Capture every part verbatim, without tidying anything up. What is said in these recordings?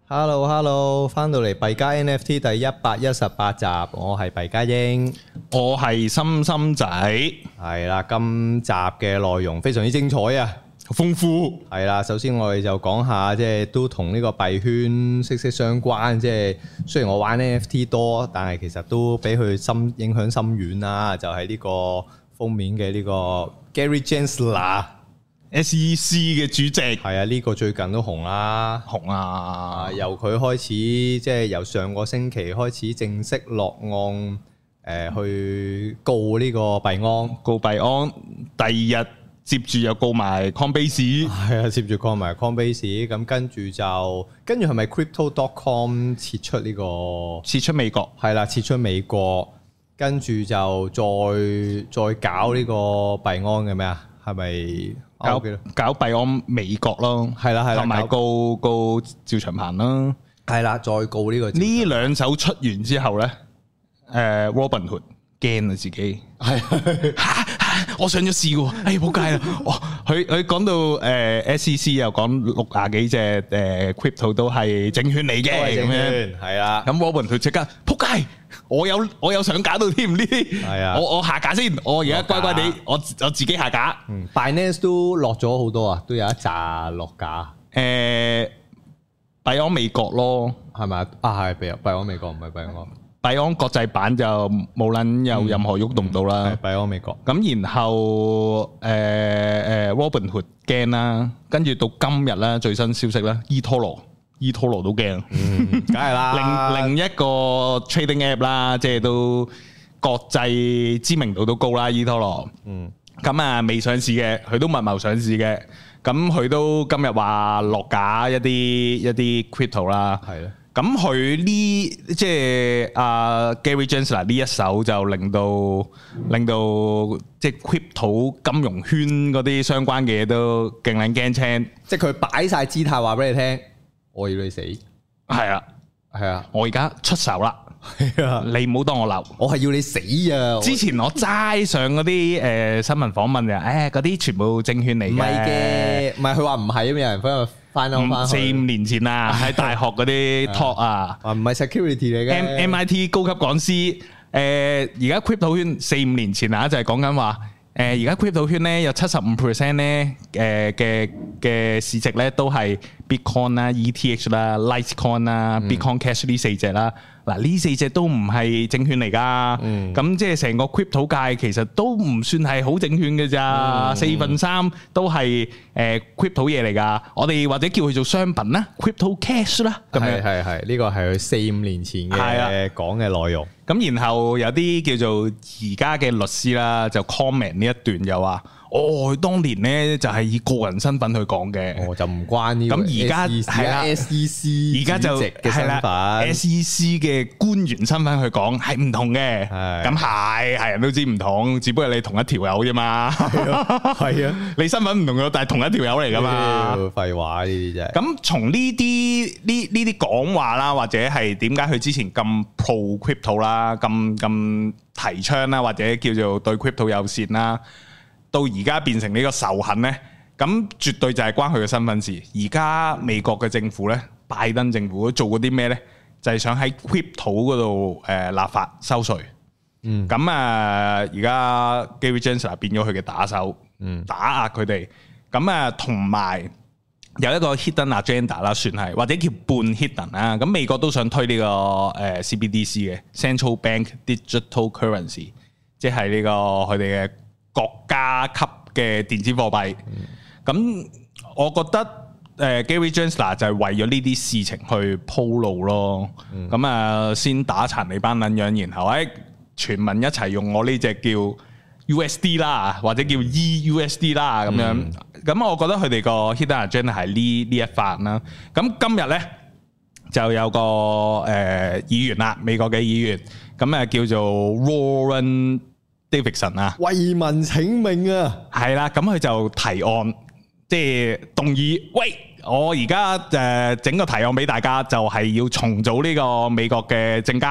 Hello Hello，翻到嚟幣加 N F T 第一百一十八集，我係幣加英， 我係心心仔， 係啦，今集嘅內容非常之精彩啊， 豐富係啦。首先我哋就講下，即係都同呢個幣圈息息相關。即係雖然我玩 N F T 多，但係其實都俾佢深影響深遠啦。就係呢個封面嘅呢個 Gary Gensler。S E C 嘅主席係啊，呢個最近都紅啦， 紅啊！ 由佢開始，即係由上個星期開始正式落案，誒去告呢個幣安， 告幣安，第二日接住又告埋 Coinbase， 係啊，接住告埋 Coinbase，咁跟住就跟住係咪 Crypto dot com 撤出呢個？ 撤出美國， 係啦，撤出美國，跟住就再再搞呢個幣安嘅咩啊？係咪？ 搞搞幣安美國咯， 係啦係啦， 同埋告告趙長鵬啦， 係啦，再告呢個。 呢兩手出完之後咧，誒 Robinhood 驚啊自己，係我上咗市喎，哎仆街啦！哇，佢佢講到誒 S E C 又講六廿幾隻誒 crypto 都係證券嚟嘅咁樣， 係啦。 咁 Robinhood即刻仆街，我有我有上架到添呢啲，係啊，我我下架先，我而家乖乖地，我我自己下架。 嗯，Binance 都落咗好多啊，都有一紮落架。 誒，幣安美國咯， 係咪啊？啊係幣幣安美國，唔係幣安。 幣安國際版就冇撚有任何喐動到啦。 係幣安美國。咁然後誒誒 Robinhood 驚啦，跟住到今日啦，最新消息啦，eToro eToro 都驚， 嗯，梗係啦。 另另一個 trading app 啦，即係都國際知名度都高啦，eToro。嗯。咁啊，未上市嘅，佢都密謀上市嘅。咁佢都今日話落架一啲一啲 crypto 啦。係咯。咁佢呢即係阿 Gary Gensler 呢一手就令到令到即係 crypto 金融圈嗰啲相關嘅嘢都勁撚驚青，即係佢擺晒姿態話俾你聽，我要你死。 係啊， 係啊， 我而家出手啦。係啊，你唔好當我流， 我係要你死啊！ 之前我齋上嗰啲誒新聞訪問嘅，誒嗰啲全部證券嚟嘅， 唔係嘅，唔係佢話唔係啊，有人翻去翻翻翻四五年前啊，喺大學嗰啲 talk 啊， 啊唔係 security 嚟嘅 ，M I T 高級講師，誒而家 crypto 圈四五年前啊，就係講緊話。誒而家 crypto 圈咧有七十五 percent 咧，誒嘅嘅市值咧都係 Bitcoin 啦、E T H 啦、Litecoin 啦、Bitcoin Cash 呢四隻啦。嗱呢四隻都唔係證券嚟㗎，咁即係成個 crypto 界其實都唔算係好證券嘅咋，四分三都係誒 crypto 嘢嚟㗎。我哋或者叫佢做商品啦 ，crypto cash 啦。咁樣係係係，呢個係佢四五年前嘅講嘅內容。 咁然後有啲叫做而家嘅律師啦，就 comment 呢一段又話，哦，佢當年咧就係以個人身份去講嘅， 哦就唔關呢個。 咁而家係啦 ，S E C 而家就係啦 ，S E C 嘅官員身份去講係唔同嘅。咁係係人都知唔同，只不過你同一條友啫嘛。係啊，你身份唔同咗，但係同一條友嚟噶嘛。 廢話呢啲啫。 咁從呢啲呢呢啲講話啦，或者係點解佢之前咁 pro crypto 啦，咁咁提倡啦，或者叫做對 crypto 友善啦，到而家變成呢個仇恨呢，咁絕對就係關佢嘅身份事。而家美國嘅政府呢，拜登政府做過啲咩呢？就係、是、想喺 crypto 嗰度誒立法收稅。嗯，咁啊，而家 Gary Gensler 變咗佢嘅打手，嗯，打壓佢哋。咁啊，同埋有一個 hidden agenda 啦，算係或者叫半 hidden 啦。咁美國都想推呢、這個誒、呃、C B D C 嘅 Central Bank Digital Currency，即係呢個佢哋嘅國家級嘅電子貨幣。咁、嗯、我覺得誒、呃、Gary Gensler 就係為咗呢啲事情去鋪路咯。咁啊、嗯，先打殘你班撚樣，然後誒、哎、全民一齊用我呢隻叫 U S D 啦，或者叫 E U S D 啦咁樣。咁、嗯、我覺得佢哋個 hidden agenda 係呢呢一範啦。咁今日咧就有個誒、呃、議員啦，美國嘅議員，咁啊叫做 Warren Davidson 啊， 為民請命啊， 係啦，咁佢就提案，即係動議，喂，我而家誒整個提案俾大家，就係要重組呢個美國嘅證監，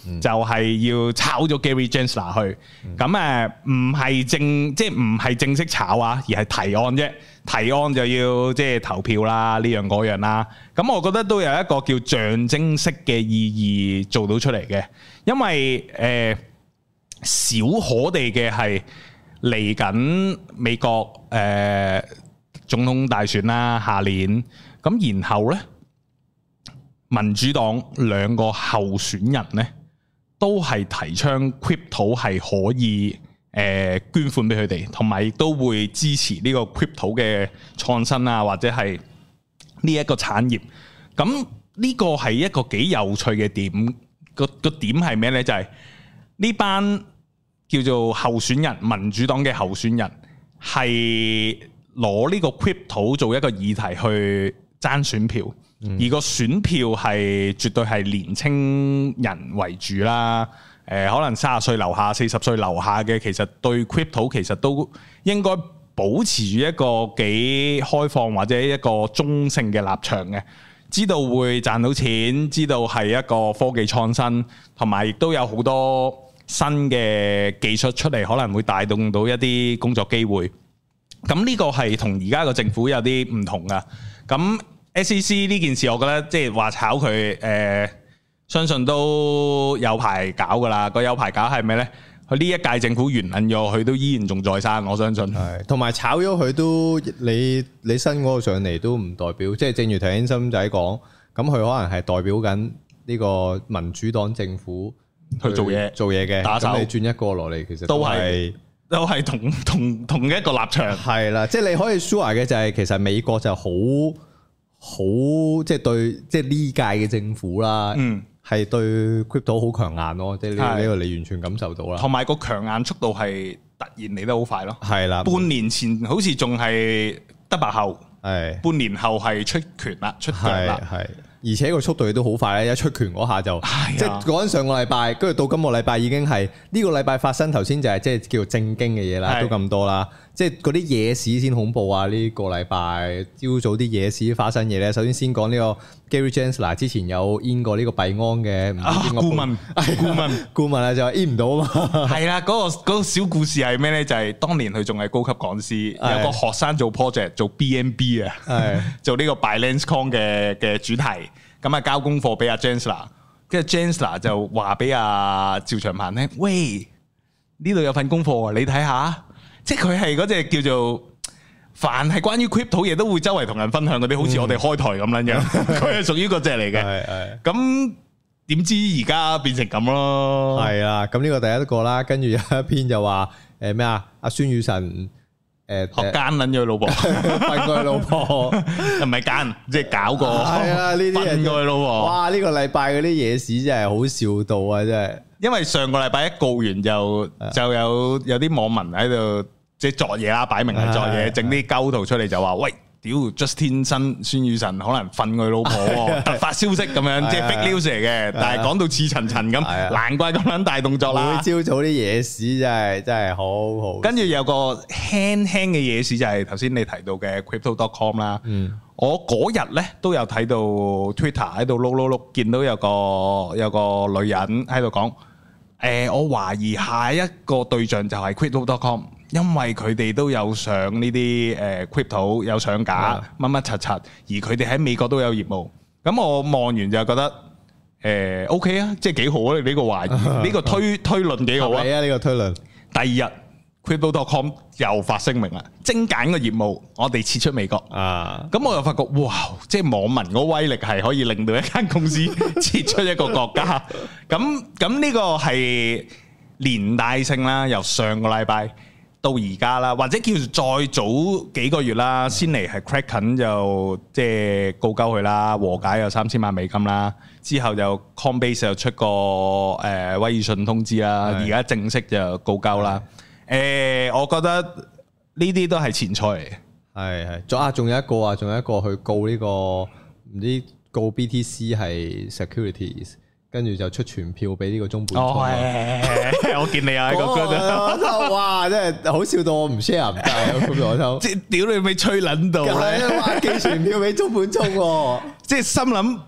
嗯、就係要炒咗 Gary Gensler 去。咁誒唔係正即係唔係正式炒啊，而係提案啫。提案就要即係投票啦，呢樣嗰樣啦。咁我覺得都有一個叫象徵式嘅意義做到出嚟嘅，因為誒、呃、少可地嘅係嚟緊美國誒、呃、總統大選啦，下年咁，然後呢，民主黨兩個候選人呢都係提倡 crypto 係可以。誒捐款俾佢哋，同埋亦都會支持呢個 crypto 嘅創新啊，或者係呢一個產業。咁呢個係一個幾有趣嘅點。個個點係咩呢？就係、是、呢班叫做候選人，民主黨嘅候選人係攞呢個 crypto 做一個議題去爭選票，嗯、而個選票係絕對係年青人為主啦。誒、呃、可能三十歲樓下、四十歲樓下嘅，其實對 crypto 其實都應該保持住一個幾開放或者一個中性嘅立場嘅，知道會賺到錢，知道係一個科技創新，同埋亦都有好多新嘅技術出嚟，可能會帶動到一啲工作機會。咁呢個係同而家個政府有啲唔同噶。咁 S E C 呢件事，我覺得即係話炒佢誒。呃相信都有排搞噶啦，個有排搞係咩呢？佢呢一屆政府完撚咗，佢都依然仲在生，我相信。係，同埋炒咗佢都，你你新嗰個上嚟都唔代表，即係正如頭先森仔講，咁佢可能係代表緊呢個民主黨政府去做嘢做嘢嘅，咁你轉一個落嚟，其實都係都係同同同一個立場。係啦，即係你可以 sure 嘅就係，其實美國就好好即係對即係呢屆嘅政府啦。嗯。係對 crypto 好強硬咯，即係呢呢個你完全感受到啦。同埋個強硬速度係突然嚟得好快咯。係啦，半年前好似仲係得白後，係半年後係出拳啦，出腳啦。係，而且個速度亦都好快咧，一出拳嗰下就，即係講緊上個禮拜，跟住到今個禮拜已經係呢個禮拜發生。頭先就係即係叫做正經嘅嘢啦，都咁多啦。即係嗰啲野史先恐怖啊！呢個禮拜朝早啲野史發生嘢咧，首先先講呢個 Gary Gensler 之前有 in 過呢個幣安嘅唔知邊個顧問，顧問顧問啊就 in 唔到啊嘛。係啦，嗰個嗰個小故事係咩咧？就係當年佢仲係高級講師，有個學生做 project 做 B N B 啊，做呢個 BinanceCoin 嘅嘅主題，咁啊交功課俾阿 Gensler， 跟住 Gensler 就話俾阿趙長鵬聽：喂，呢度有份功課，你睇下。即係佢係嗰隻叫做，凡係關於 crypto 嘢都會周圍同人分享嗰啲，好似我哋開台咁樣樣，佢係屬於嗰隻嚟嘅。係係。咁點知而家變成咁咯？係啊，咁呢個第一個啦，跟住有一篇就話誒咩啊？阿孫宇晨誒學奸捻咗佢老婆，瞓過佢老婆，唔係奸，即係搞過。係啊，呢啲人瞓過佢老婆。哇！呢個禮拜嗰啲野史真係好笑到啊！真係。因為上個禮拜一告完就就有有啲網民喺度。即係作嘢啦，擺明係作嘢，整啲鳩圖出嚟就話：喂，屌 Justin 新孫宇晨可能瞓佢老婆，突發消息咁樣，即係 fake news 嚟嘅。但係講到似層層咁，難怪咁撚大動作啦。朝早啲野史真係真係好好。跟住有個輕輕嘅野史就係頭先你提到嘅 crypto dot com 啦。嗯，我嗰日咧都有睇到 Twitter 喺度碌碌碌，見到有個有個女人喺度講：誒，我懷疑下一個對象就係 crypto dot com。因為佢哋都有上呢啲誒 crypto 有上架乜乜柒柒，而佢哋喺美國都有業務。咁我望完就覺得誒 OK 啊，即係幾好啊！呢個懷疑，呢個推推論幾好啊！係啊，呢個推論。第二日 crypto dot com 又發聲明啦，精簡個業務，我哋撤出美國啊！咁我又發覺哇，即係網民嗰威力係可以令到一間公司撤出一個國家。咁咁呢個係連帶性啦，由上個禮拜到而家啦，或者叫做再早幾個月啦，先嚟係 Kraken 就即係告鳩佢啦，和解有三千萬美金啦，之後就 Coinbase 又出個誒威爾遜通知啦，而家正式就告鳩啦。誒，我覺得呢啲都係前菜嚟嘅。係係，仲啊仲有一個啊，仲有一個去告呢個唔知告 B T C 係 securities。跟住就出傳票俾呢個中本聰。哦，係，我見你啊喺個 group 度。哇，真係好笑到我唔 share 唔得啊！咁我偷，即係屌你咪吹撚到咧，話寄傳票俾中本聰喎。即係心諗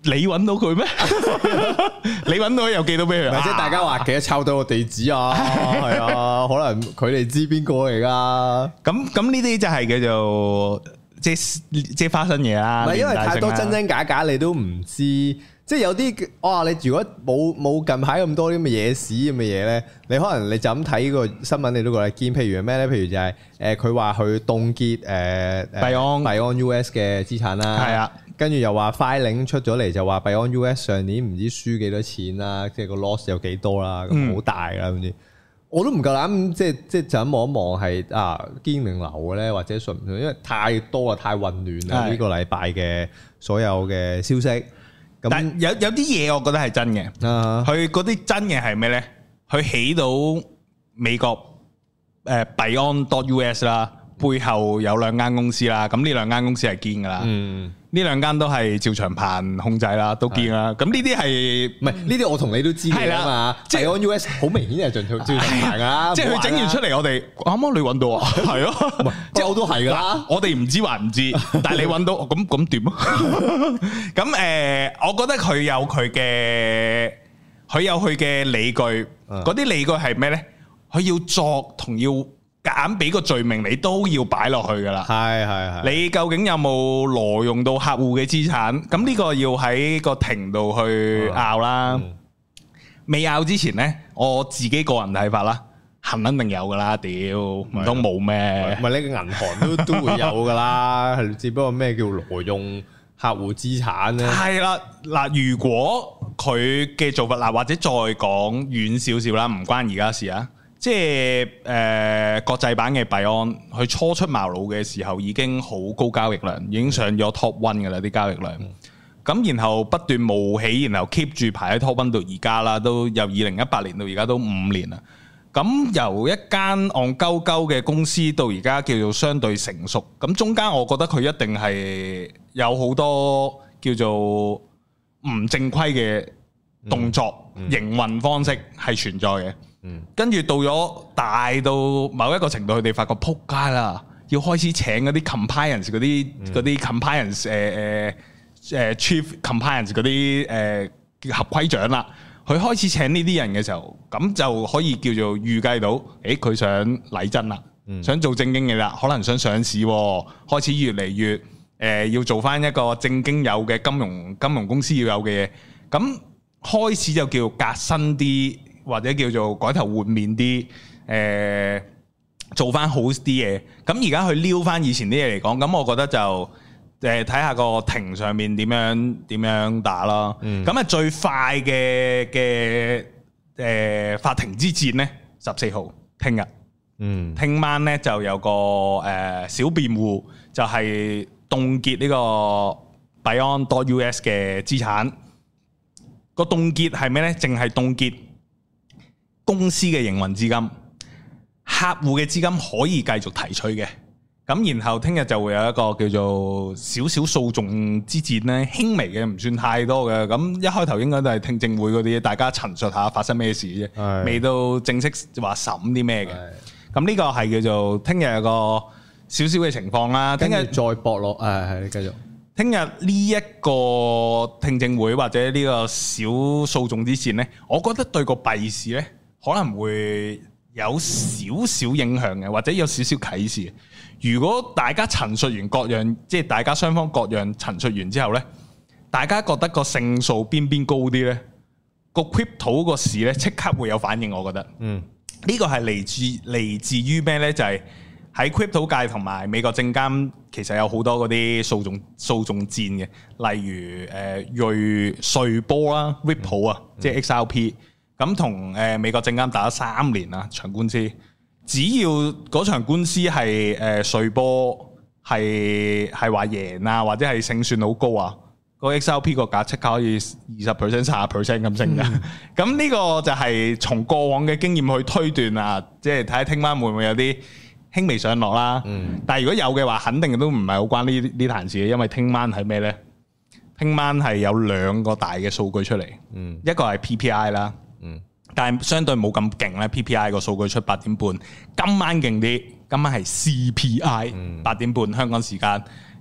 你揾到佢咩？你揾到又寄到俾佢？ 唔係即係大家話記得抄到個地址啊？係啊，可能佢哋知邊個嚟噶。 咁咁呢啲就係叫做即係即係花生嘢啦。 唔係因為太多真真假假，你都唔知。即係有啲哇，你如果冇冇近排咁多啲咁嘅野史咁嘅嘢咧，你可能你就咁睇呢個新聞，你都覺得堅。譬如咩咧？譬如就係誒佢話佢凍結誒誒幣安幣安 U S 嘅資產啦。係啊。跟住又話 filing 出咗嚟，就話幣安 U S 上年唔知輸幾多錢啦，即係個 loss 有幾多啦，咁好大啦咁啲，我都唔夠膽，即係即係就咁望一望係啊堅定流嘅咧，或者順唔順？因為太多啦，太混亂啦，呢個禮拜嘅所有嘅消息。咁但有有啲嘢我覺得係真嘅，佢嗰啲真嘅係咩咧？佢起到美國誒幣安 .US 啦，背後有兩間公司啦，咁呢兩間公司係堅噶啦。嗯。呢兩間都係趙長鵬控制啦，都堅啦。咁呢啲係唔係呢啲？我同你都知嘅啊嘛。幣安 U S 好明顯係趙趙長鵬啊，即係佢整完出嚟，我哋啱啱你揾到啊？係咯，即係我都係噶啦。我哋唔知還唔知，但係你揾到，咁咁點啊？咁誒，我覺得佢有佢嘅，佢有佢嘅理據。嗰啲理據係咩咧？佢要作同要。揀俾個罪名你都要擺落去噶啦，係係係。你究竟有冇挪用到客戶嘅資產？咁呢個要喺個庭度去拗啦。嗯、未拗之前呢，我自己個人睇法啦，肯定有噶啦。屌，唔通冇咩？唔係你個銀行都都會有噶啦，係只不過咩叫挪用客戶資產咧？係啦，嗱，如果佢嘅做法嗱，或者再講遠少少啦，唔關而家事啊。即係誒、呃、國際版嘅幣安，佢初出茅廬嘅時候已經好高交易量，已經上咗 top one 嘅啦啲交易量。咁、嗯、然後不斷冒起，然後 keep 住排喺 top one 到而家啦，都由二零一八年到而家都五年啦。咁由一間戇鳩鳩嘅公司到而家叫做相對成熟，咁中間我覺得佢一定係有好多叫做唔正規嘅動作、嗯嗯、營運方式係存在嘅。跟住到咗大到某一個程度，佢哋發覺撲街啦，要開始請嗰啲 compliance 嗰啲嗰啲 compliance 誒誒誒 chief compliance 嗰啲誒合規長啦。佢開始請呢啲人嘅時候，咁就可以叫做預計到，誒佢想禮真啦，想做正經嘅啦，可能想上市，開始越嚟越誒要做翻一個正經有嘅金融金融公司要有嘅嘢，咁開始就叫革新啲。或者叫做改頭換面啲，誒、呃、做翻好啲嘢。咁而家去撩翻以前啲嘢嚟講，咁我覺得就誒睇下個庭上面點樣點樣打咯。咁啊、嗯、最快嘅嘅誒法庭之戰咧，十四號聽日，嗯，聽晚咧就有個誒、呃、小辯護，就係凍結呢個幣安 .US 嘅資產。個凍結係咩咧？淨係凍結公司嘅營運資金，客戶嘅資金可以繼續提取嘅。咁然後聽日就會有一個叫做少少訴訟之戰咧，輕微嘅，唔算太多嘅。咁一開頭應該都係聽證會嗰啲，大家陳述下發生咩事啫，的未到正式話審啲咩嘅。咁呢的個係叫做聽日有個少少嘅情況啦。聽日再搏落，誒係你繼續。聽日呢一個聽證會或者呢個小訴訟之戰咧，我覺得對個幣市咧，可能會有少少影響嘅，或者有少少啟示。如果大家陳述完各樣，即係大家雙方各樣陳述完之後呢，大家覺得個勝數邊邊高啲呢？個 crypto 個市呢，即刻會有反應。我覺得，嗯，呢個係嚟自嚟自於咩呢？就係、是、喺 crypto 界同埋美國證監，其實有好多嗰啲訴訟訴訟戰嘅，例如誒、呃、瑞瑞波啦、Ripple 啊，即係 X R P。咁同誒美國證監打咗三年啦場官司，只要嗰場官司係誒瑞波係係話贏啊，或者係勝算好高啊，個 X R P 個價即刻可以二十 percent、三十 percent 咁升㗎。咁呢、嗯、個就係從過往嘅經驗去推斷啊，即係睇下聽晚會唔會有啲輕微上落啦。嗯、但係如果有嘅話，肯定都唔係好關呢呢壇事嘅，因為聽晚係咩咧？聽晚係有兩個大嘅數據出嚟，嗯、一個係 P P I 啦。嗯，但係相對冇咁勁咧 ，P P I 個數據出八點半，今晚勁啲，今晚係 C P I 八點半香港時間，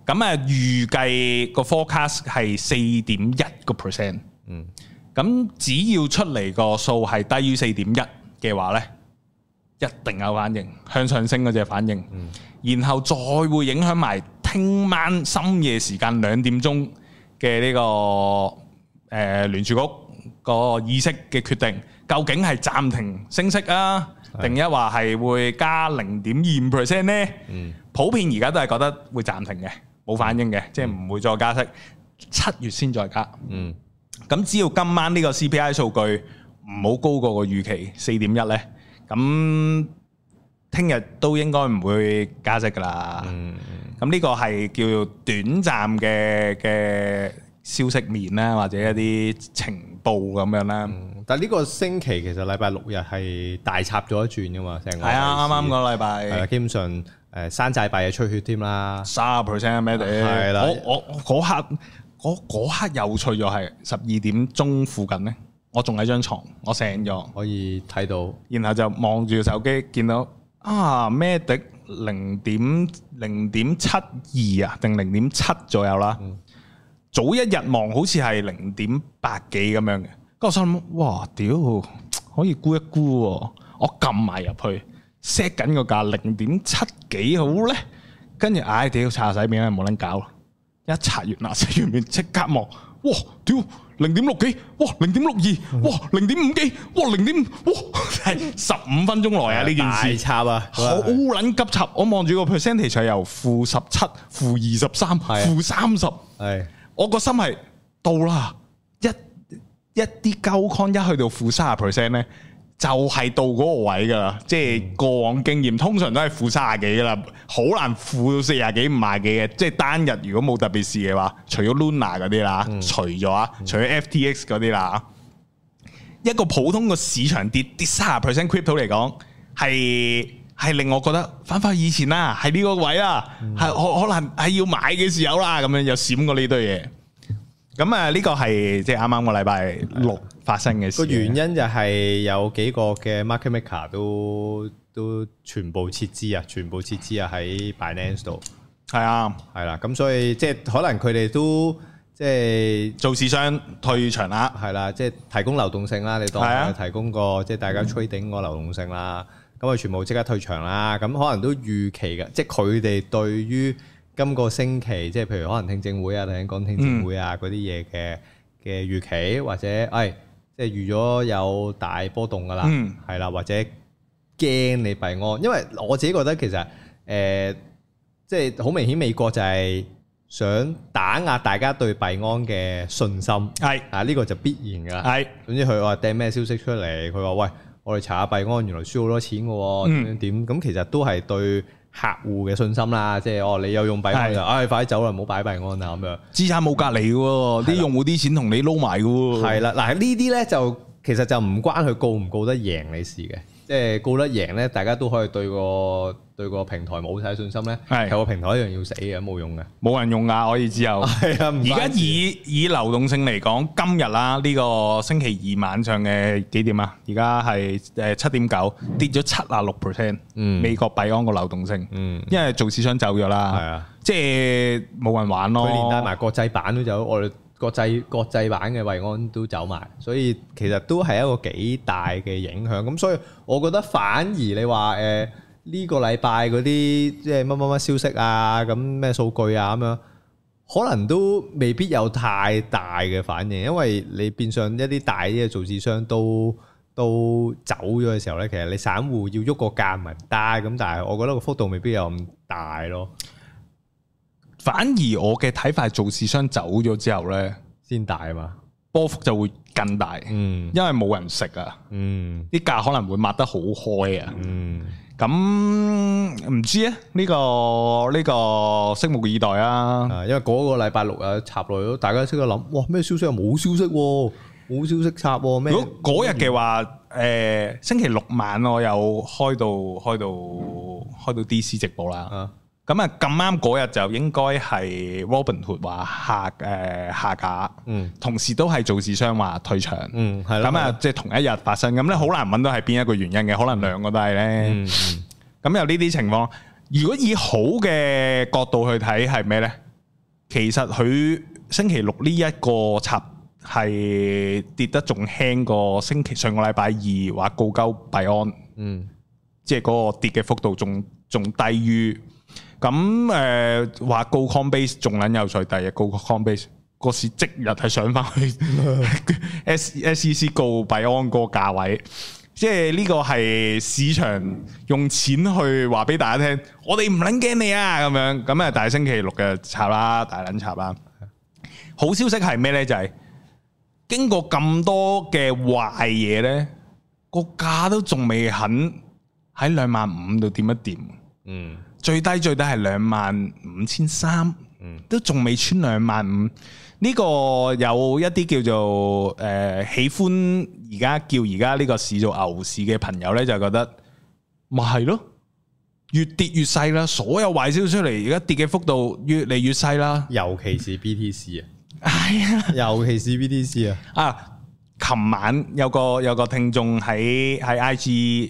咁啊預計個 forecast 係四點一個 percent。嗯，咁只要出嚟個數係低於四點一嘅話咧，一定有反應，向上升嗰隻反應。嗯，然後再會影響埋聽晚深夜時間兩點鐘嘅呢個誒聯儲局個議息嘅決定，究竟係暫停升息啊，定一話係會加零點二五 percent 咧？嗯，普遍而家都係覺得會暫停嘅，冇反應嘅，即係唔會再加息，七月先再加。嗯，咁只要今晚呢個 C P I 數據唔好高過個預期四點一咧，咁聽日都應該唔會加息噶啦。嗯，咁呢個係叫做短暫嘅嘅消息面啦，或者一啲情報咁樣啦。嗯，但係呢個星期其實禮拜六日係大插咗一轉噶嘛，成個係啊，啱啱個禮拜係啊，基本上誒山寨幣係出血添啦，三十 percent 咩地？係啦，我我嗰刻嗰嗰刻有趣咗係十二點鐘附近咧，我仲喺張床，我醒咗可以睇到，然後就望住手機見到啊咩的零點零點七二啊，定零點七左右啦。嗯，早一日望好似係零點八幾咁樣嘅，咁我心諗哇屌可以估一估喎，我撳埋入去 set 緊個價零點七幾好咧，跟住唉屌查洗面啦冇撚搞，一查完啦查完面即刻望，哇屌零點六幾，哇零點六二，哇零點五幾，哇零點哇係十五分鐘內啊呢件事，大插啊，好撚急插，我望住個 percentage 係由負十七、負二十三、負三十，係。我個心係到啦，一一啲鳩 con 一去到負三十 percent 咧，就係到嗰個位噶啦。即係過往經驗，通常都係負三十幾噶啦，好難負到四十幾、五十幾嘅。即係單日如果冇特別事嘅話，除咗 Luna 嗰啲啦，嗯、除咗啊，嗯、除咗 F T X 嗰啲啦，一個普通個市場跌跌三十 percent crypto 嚟講，係係令我覺得翻返以前啦，係呢個位啦，係可、嗯、可能係要買嘅時候啦，咁樣又閃過呢堆嘢。咁啊，呢個係即係啱啱個禮拜六發生嘅事。個原因就係有幾個嘅 market maker 都都全部撤資啊，全部撤資啊喺 Binance 度。係啊，係啦，咁所以即係可能佢哋都即係做市商退場啦，係啦，即係提供流動性啦，你當係提供個即係大家 trading 個流動性啦。咁啊，全部即刻退場啦！咁可能都預期嘅，即係佢哋對於今個星期，即係譬如可能聽證會啊，頭先講聽證會啊嗰啲嘢嘅嘅預期，或者誒，即係預咗有大波動噶啦，係啦、嗯，或者驚你幣安，因為我自己覺得其實誒、呃，即係好明顯美國就係想打壓大家對幣安嘅信心，係啊，呢個就必然噶啦，係。總之佢話掟咩消息出嚟，佢話喂。我哋查下幣安，原來輸好多錢嘅喎，點點點咁，其實都係對客戶嘅信心啦。即係哦，你有用幣安就，唉，快啲走啦，唔好擺幣安啊咁樣。資產冇隔離嘅喎，啲用戶啲錢同你撈埋嘅喎。係啦，嗱呢啲咧就其實就唔關佢告唔告得贏你事嘅，即係告得贏咧，大家都可以對個對個平台冇晒信心咧，係個平台一樣要死嘅，冇用嘅，冇人用噶，可以之後。係啊，而家以以流動性嚟講，今日啦呢個星期二晚上嘅幾點啊？而家係誒七點九，跌咗七啊六 percent。嗯，美國幣安個流動性，嗯，因為做市商走咗啦，係啊，即係冇人玩咯。佢連帶埋國際版都走，我哋國際國際版嘅幣安都走埋，所以其實都係一個幾大嘅影響。咁所以我覺得反而你話誒。呢個禮拜嗰啲即係乜乜乜消息啊，咁咩數據啊咁樣，可能都未必有太大嘅反應，因為你變相一啲大啲嘅造市商都都走咗嘅時候咧，其實你散戶要喐個價唔係唔得，咁但係我覺得個幅度未必有咁大咯。反而我嘅睇法係造市商走咗之後咧，先大啊嘛，波幅就會更大。嗯，因為冇人食啊。嗯，啲價可能會抹得好開啊。嗯。咁唔知啊？呢個呢個拭目以待啊！因為嗰個禮拜六啊插落去，大家識得諗，哇咩消息啊？冇消息喎，冇消息插喎咩？如果嗰日嘅話，誒星期六晚我有開到開到開到 D C 直播啦。咁啊咁啱嗰日就應該係 Robinhood 話下誒下架，嗯，同時都係造市商話退場，嗯，係啦，咁啊即係同一日發生，咁咧好難揾到係邊一個原因嘅，可能兩個都係咧，嗯嗯，咁有呢啲情況，如果以好嘅角度去睇係咩咧？ 其實佢星期六呢一個插係跌得仲輕過星期上個禮拜二話告鳩幣安，嗯，即係嗰個跌嘅幅度仲仲低於咁誒話告 Coinbase 仲撚有趣，第二日告 Coinbase 個市即日係上翻去 S S E C 告幣安個價位。即係呢個係市場用錢去話俾大家聽，我哋唔撚驚你啊咁樣，咁啊大星期六嘅插啦，大撚插啦。好消息係咩呢？就係、是、經過咁多嘅壞嘢呢，個價都仲未肯喺兩萬五度掂一掂。嗯，最低最低係兩萬五千三，嗯，都仲未穿兩萬五。呢個有一啲叫做誒、呃、喜歡而家叫而家呢個市做牛市嘅朋友呢，就覺得咪係咯，越跌越細啦，所有壞消息出嚟，而家跌嘅幅度越嚟越細啦。尤其是 B T C 啊，係啊，尤其是 B T C 啊。啊，琴晚有個有個聽眾喺喺 I G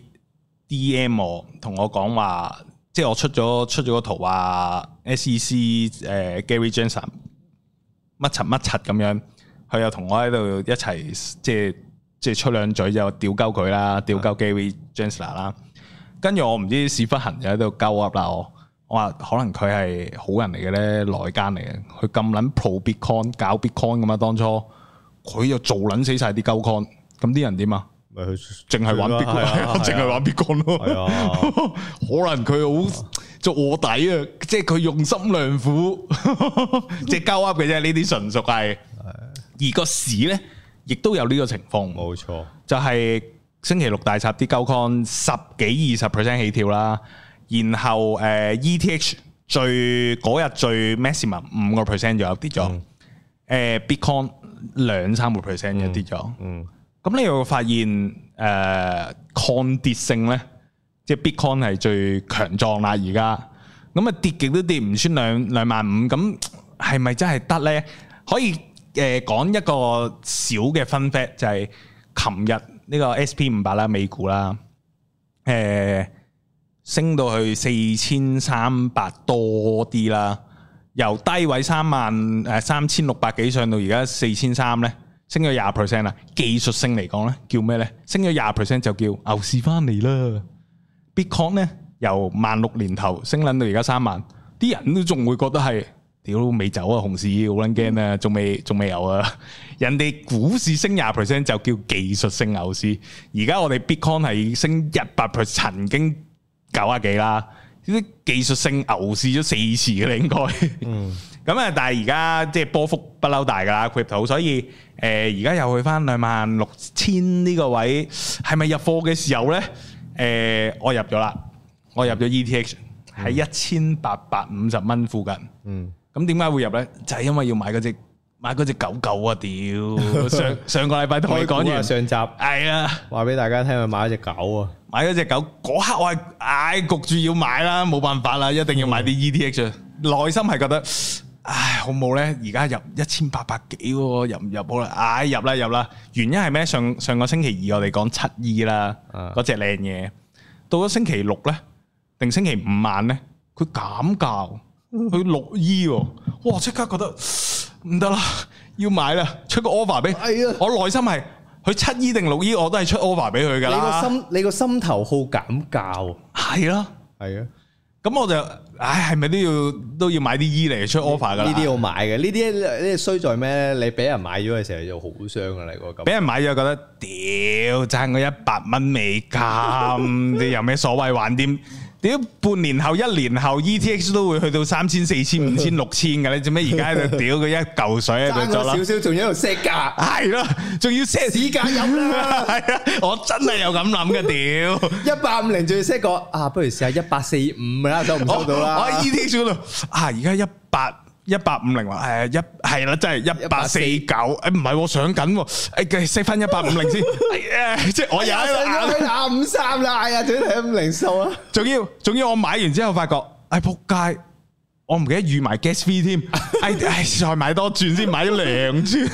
D M 我，同我講話，即係我出咗出咗個圖話 S E C 誒、呃、Gary Gensler。乜柒乜柒咁樣，佢又同我喺度一齊，即係即係出兩嘴就屌鳩佢啦，屌鳩 Gary Gensler 啦。跟住我唔知屎忽痕就喺度鳩噏啦，我我話可能佢係好人嚟嘅咧，內奸嚟嘅。佢咁撚 pro Bitcoin 搞 Bitcoin 咁嘛，當初佢又做撚死晒啲鳩 coin，咁啲人點啊？咪佢淨係玩 Bitcoin，淨係玩 Bitcoin 咯。可能佢好。做臥底啊！即係佢用心良苦，即係鳩噏嘅啫。呢啲純屬係，而個市咧亦都有呢個情況。冇錯，就係星期六大插啲鳩 coin 十幾二十 percent 起跳啦。然後誒 E T H 最嗰日最 maximum 五個 percent 左右跌咗。誒 Bitcoin 兩三個 percent 嘅跌咗。嗯，咁你又發現誒抗跌性咧？即係 Bitcoin 係最強壯啦，而家咁啊跌極都跌唔穿兩兩萬五，咁係咪真係得咧？可以誒講一個小嘅 fun fact，就係琴日呢個 S P 五百啦，美股啦，誒、呃、升到去四千三百多啲啦，由低位三萬誒三千六百幾上到而家四千三咧，升咗廿 percent 啦。技術性嚟講咧，叫咩咧？升咗廿 percent 就叫牛市翻嚟啦。Bitcoin 咧由萬六年頭升捻到而家三萬，啲人都仲會覺得係屌未走啊，熊市好捻驚啊，仲未仲未有啊。人哋股市升廿 percent 就叫技術性牛市，而家我哋 Bitcoin 係升一百 percent，曾經九啊幾啦，呢啲技術性牛市咗四次嘅啦應該。嗯，咁啊，但係而家即係波幅不嬲大噶啦 Crypto， 所以誒而家又去翻兩萬六千呢個位，係咪入貨嘅時候咧？誒、呃，我入咗啦，我入咗 E T H 喺一千八百五十蚊附近。嗯，咁點解會入咧？就係、是、因為要買嗰隻買嗰隻狗狗啊！屌，上上個禮拜同你講完上集，係啊，話俾大家聽，佢買咗隻狗啊，買咗隻狗嗰刻我係唉焗住要買啦，冇辦法啦，一定要買啲 E T H。內、嗯、心係覺得唉好冇咧，而家入一千八百幾，入唔入好啦？唉入啦入啦，原因係咩？上上個星期二我哋講七 E 啦，嗰隻靚嘢，到咗星期六咧，定星期五晚咧，佢減價，佢六 E，哇！即刻覺得唔得啦，要買啦，出個 offer 俾，我內心係佢七 E 定六 E，我都係出 offer 俾佢噶啦。你個心，你個心頭好減價，係咯，係啊。咁我就，唉，係咪都要都要買啲 E 嚟出 offer 噶啦？呢啲要買嘅，呢啲呢啲衰在咩咧？你俾人買咗嘅時候就好傷噶啦，個咁。俾人買咗覺得，屌爭我一百蚊美金，你有咩所謂還掂？屌半年後、一年後 E T H 都會去到三千、四千、五千、六千嘅，你做咩而家喺度屌佢一嚿水喺度做啦？爭少少，仲要喺度 set 價，係咯，仲要 set 市價飲啦，係啊，我真係有咁諗嘅，屌一百五零仲要 set 個啊，不如試下一百四五啦，收唔收到啦？我喺 E T H 嗰度啊，而家一百。一百五零話誒一係啦，真係一百四九誒唔係我上緊喎，誒計識翻一百五零先，誒即係我有上咗廿五三啦，係啊，仲要睇五零數啊，仲要仲要我買完之後發覺，哎仆街，我唔記得預埋 gas fee 添，哎哎再買多轉先，買咗兩轉，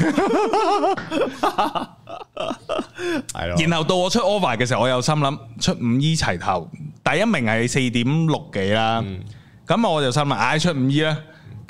係咯，然後到我出 offer 嘅時候，我有心諗出五 E 齊頭，第一名係四點六幾啦，咁我就心諗唉出五 E 啦。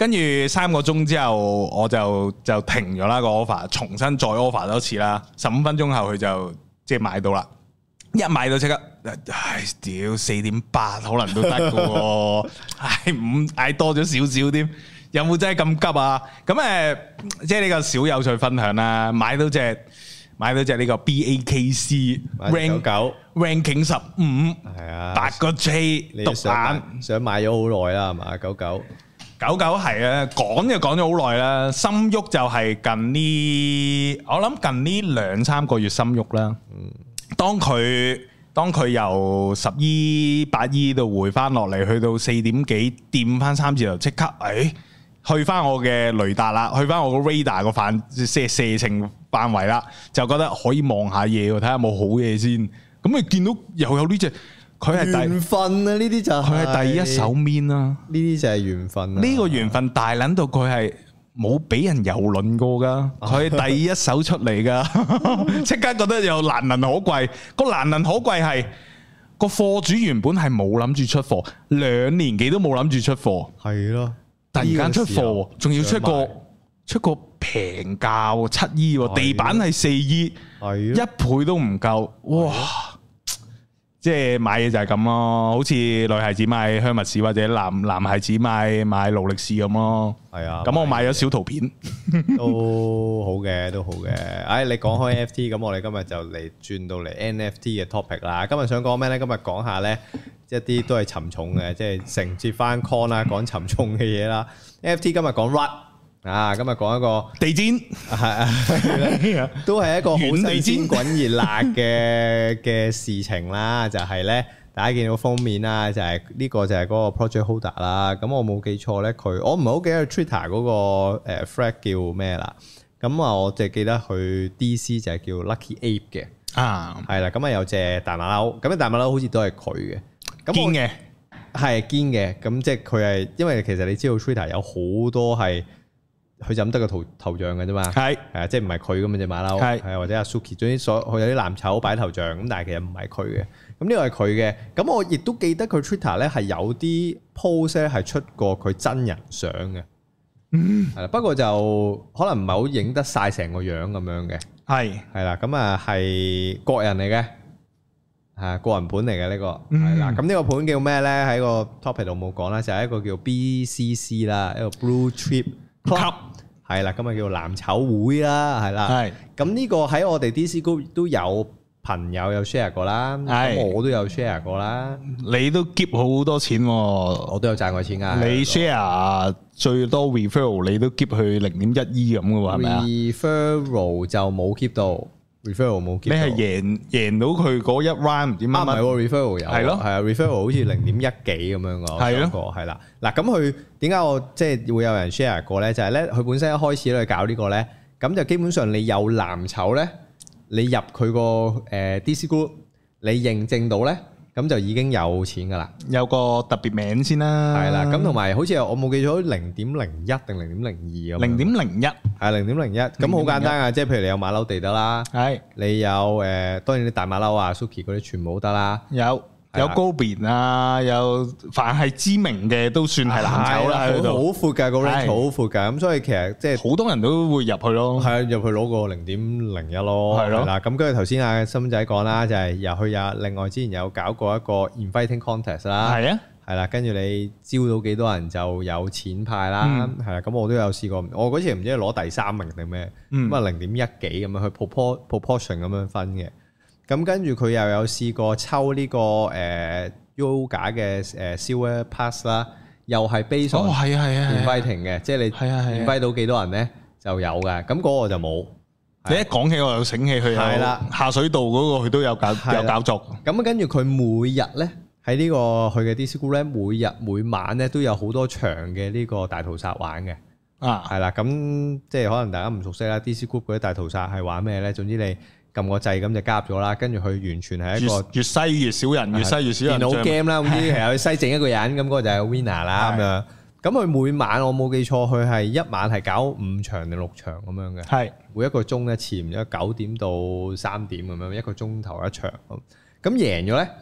跟住三個鐘之後我就就停咗啦個 offer，重新再 offer 多次啦。十五分鐘後佢就即係買到啦，一買到即刻，唉屌四點八可能都得嘅喎，唉五唉多咗少少添，有冇真係咁急啊？咁誒即係呢個小有趣分享啦，買到隻。買到隻呢個 B A K C rank 九 ranking 十五，係啊，八個 J 獨眼， 想買咗好耐啦，係嘛？九九九九係啊，講就講咗好耐啦，心喐就係近呢，我諗近呢兩三個月心喐啦。嗯，當佢當佢由十億八億度回翻落嚟，去到四點幾，掂翻三字頭，即刻誒。去翻我嘅雷達啦，去翻我個 radar 個範即係射程範圍啦，就覺得可以望下嘢，睇下有冇好嘢先。咁你見到又有呢隻，佢係緣分啊！呢啲就係佢係第一手面啦。呢啲就係緣分。 呢個緣分大撚到佢係冇俾人蹂躪過噶，佢係第一手出嚟噶，即刻覺得又難能可貴。個難能可貴係個貨主原本係冇諗住出貨，兩年幾都冇諗住出貨， 係咯。 突然間出貨，仲要出個出個平價七億，地板係四億，一倍都唔夠，哇！即係買嘢就係咁咯，好似女孩子買香蜜士或者男男孩子買買勞力士咁咯。係啊，咁我買咗小圖片， 都好嘅，都好嘅。唉，你講開 N F T，咁我哋今日就嚟轉到嚟 N F T 嘅 topic 啦。今日想講咩咧？今日講下咧。一啲都係沉重嘅，即係承接翻 con 啦，講沉重嘅嘢啦。N F T 今日講 R U T 啊，今日講一個地氈，係啊， 都係一個好新鮮滾熱辣嘅嘅事情啦。就係咧，大家見到封面啦，就係呢個就係嗰個 project holder 啦。咁我冇記錯咧，佢我唔係好記得 Twitter 嗰個誒 flag 叫咩啦。咁啊，我淨係記得佢 D C 就係叫 Lucky Ape 嘅啊，係啦。咁啊有隻大馬騮，咁啊大馬騮好似都係佢嘅。 堅嘅係堅嘅，咁即係佢係，因為其實你知道 Twitter 有好多係佢就咁得個頭頭像嘅啫嘛，係係啊，即係唔係佢咁嘅隻馬騮，係係或者阿 Suki，總之所佢有啲藍籌擺頭像，咁但係其實唔係佢嘅，咁呢個係佢嘅，咁我亦都記得佢 Twitter 咧係有啲 post 咧係出過佢真人相嘅，嗯，係啦，不過就可能唔係好影得晒成個樣咁樣嘅，係係啦，咁啊係個人嚟嘅。係個人盤嚟嘅呢個，係啦。咁呢個盤叫咩咧？喺個 topic 度冇講啦，就係一個叫 B C C 啦，一個 Blue Chip Club，係啦。咁啊叫藍籌會啦，係啦。係。咁呢個喺我哋 D C Group 都有朋友有 share 過啦，咁我都有 share 過啦。 你都 keep 好多錢喎， 我都有賺過錢㗎。 你 share 最多 referral 你都 keep 去零點一億咁嘅喎，係咪啊 ？referral 就冇 keep 到。referral 冇， 你係贏贏到佢嗰一 round 唔知乜乜？ 啊唔係喎 referral 有， 係咯， 係啊 referral 好似零點一幾咁樣個，係咯，係啦。嗱咁佢點解我即係會有人 share 過咧？就係咧佢本身一開始咧搞呢個咧，咁就基本上你有藍籌咧，你入佢個誒 D C Group，你認證到咧。咁就已經有錢噶啦， 有個特別名先啦。 係啦，咁同埋好似我冇記錯，零點零一定零點零二咁。零點零一係零點零一，咁好簡單啊！即係譬如你有馬騮地得啦，係你有誒，當然啲大馬騮啊、Suki 嗰啲全部都得啦，有。有高邊啊，有凡係知名嘅都算係藍籌啦，喺度好闊㗎，個 range 好闊㗎，咁所以其實即係好多人都會入去咯，係啊，入去攞個零點零一咯，係咯，嗱咁跟住頭先阿森仔講啦，就係入去有另外之前有搞過一個 inviting contest 啦，係啊，係啦，跟住你招到幾多人就有錢派啦，係啦，咁我都有試過，我嗰次唔知攞第三名定咩，咁啊零點一幾咁樣去 proportion 咁樣分嘅。咁跟住佢又有試過抽呢個誒 Yoga 嘅誒 Silver Pass 啦，又係 base on inviting嘅，即係你 invite 到幾多人咧就有嘅。咁嗰個就冇。你一講起我又醒起佢係啦，下水道嗰個佢都有搞有搞作。咁跟住佢每日咧喺呢個佢嘅 D C Group 咧，每日每晚咧都有好多場嘅呢個大屠殺玩嘅。啊，係啦，咁即係可能大家唔熟悉啦。D C Group 嗰啲大屠殺係玩咩咧？總之你撳個掣咁就加入咗啦，跟住佢完全係一個越篩越少人，越篩越少人。電腦 game 啦，咁啲其實佢篩整一個人，咁嗰個就係 winner 啦咁樣。咁佢每晚我冇記錯，佢係一晚係搞五場定六場咁樣嘅。係每一個鐘一次，唔知九點到三點咁樣，一個鐘頭一場。咁贏咗咧，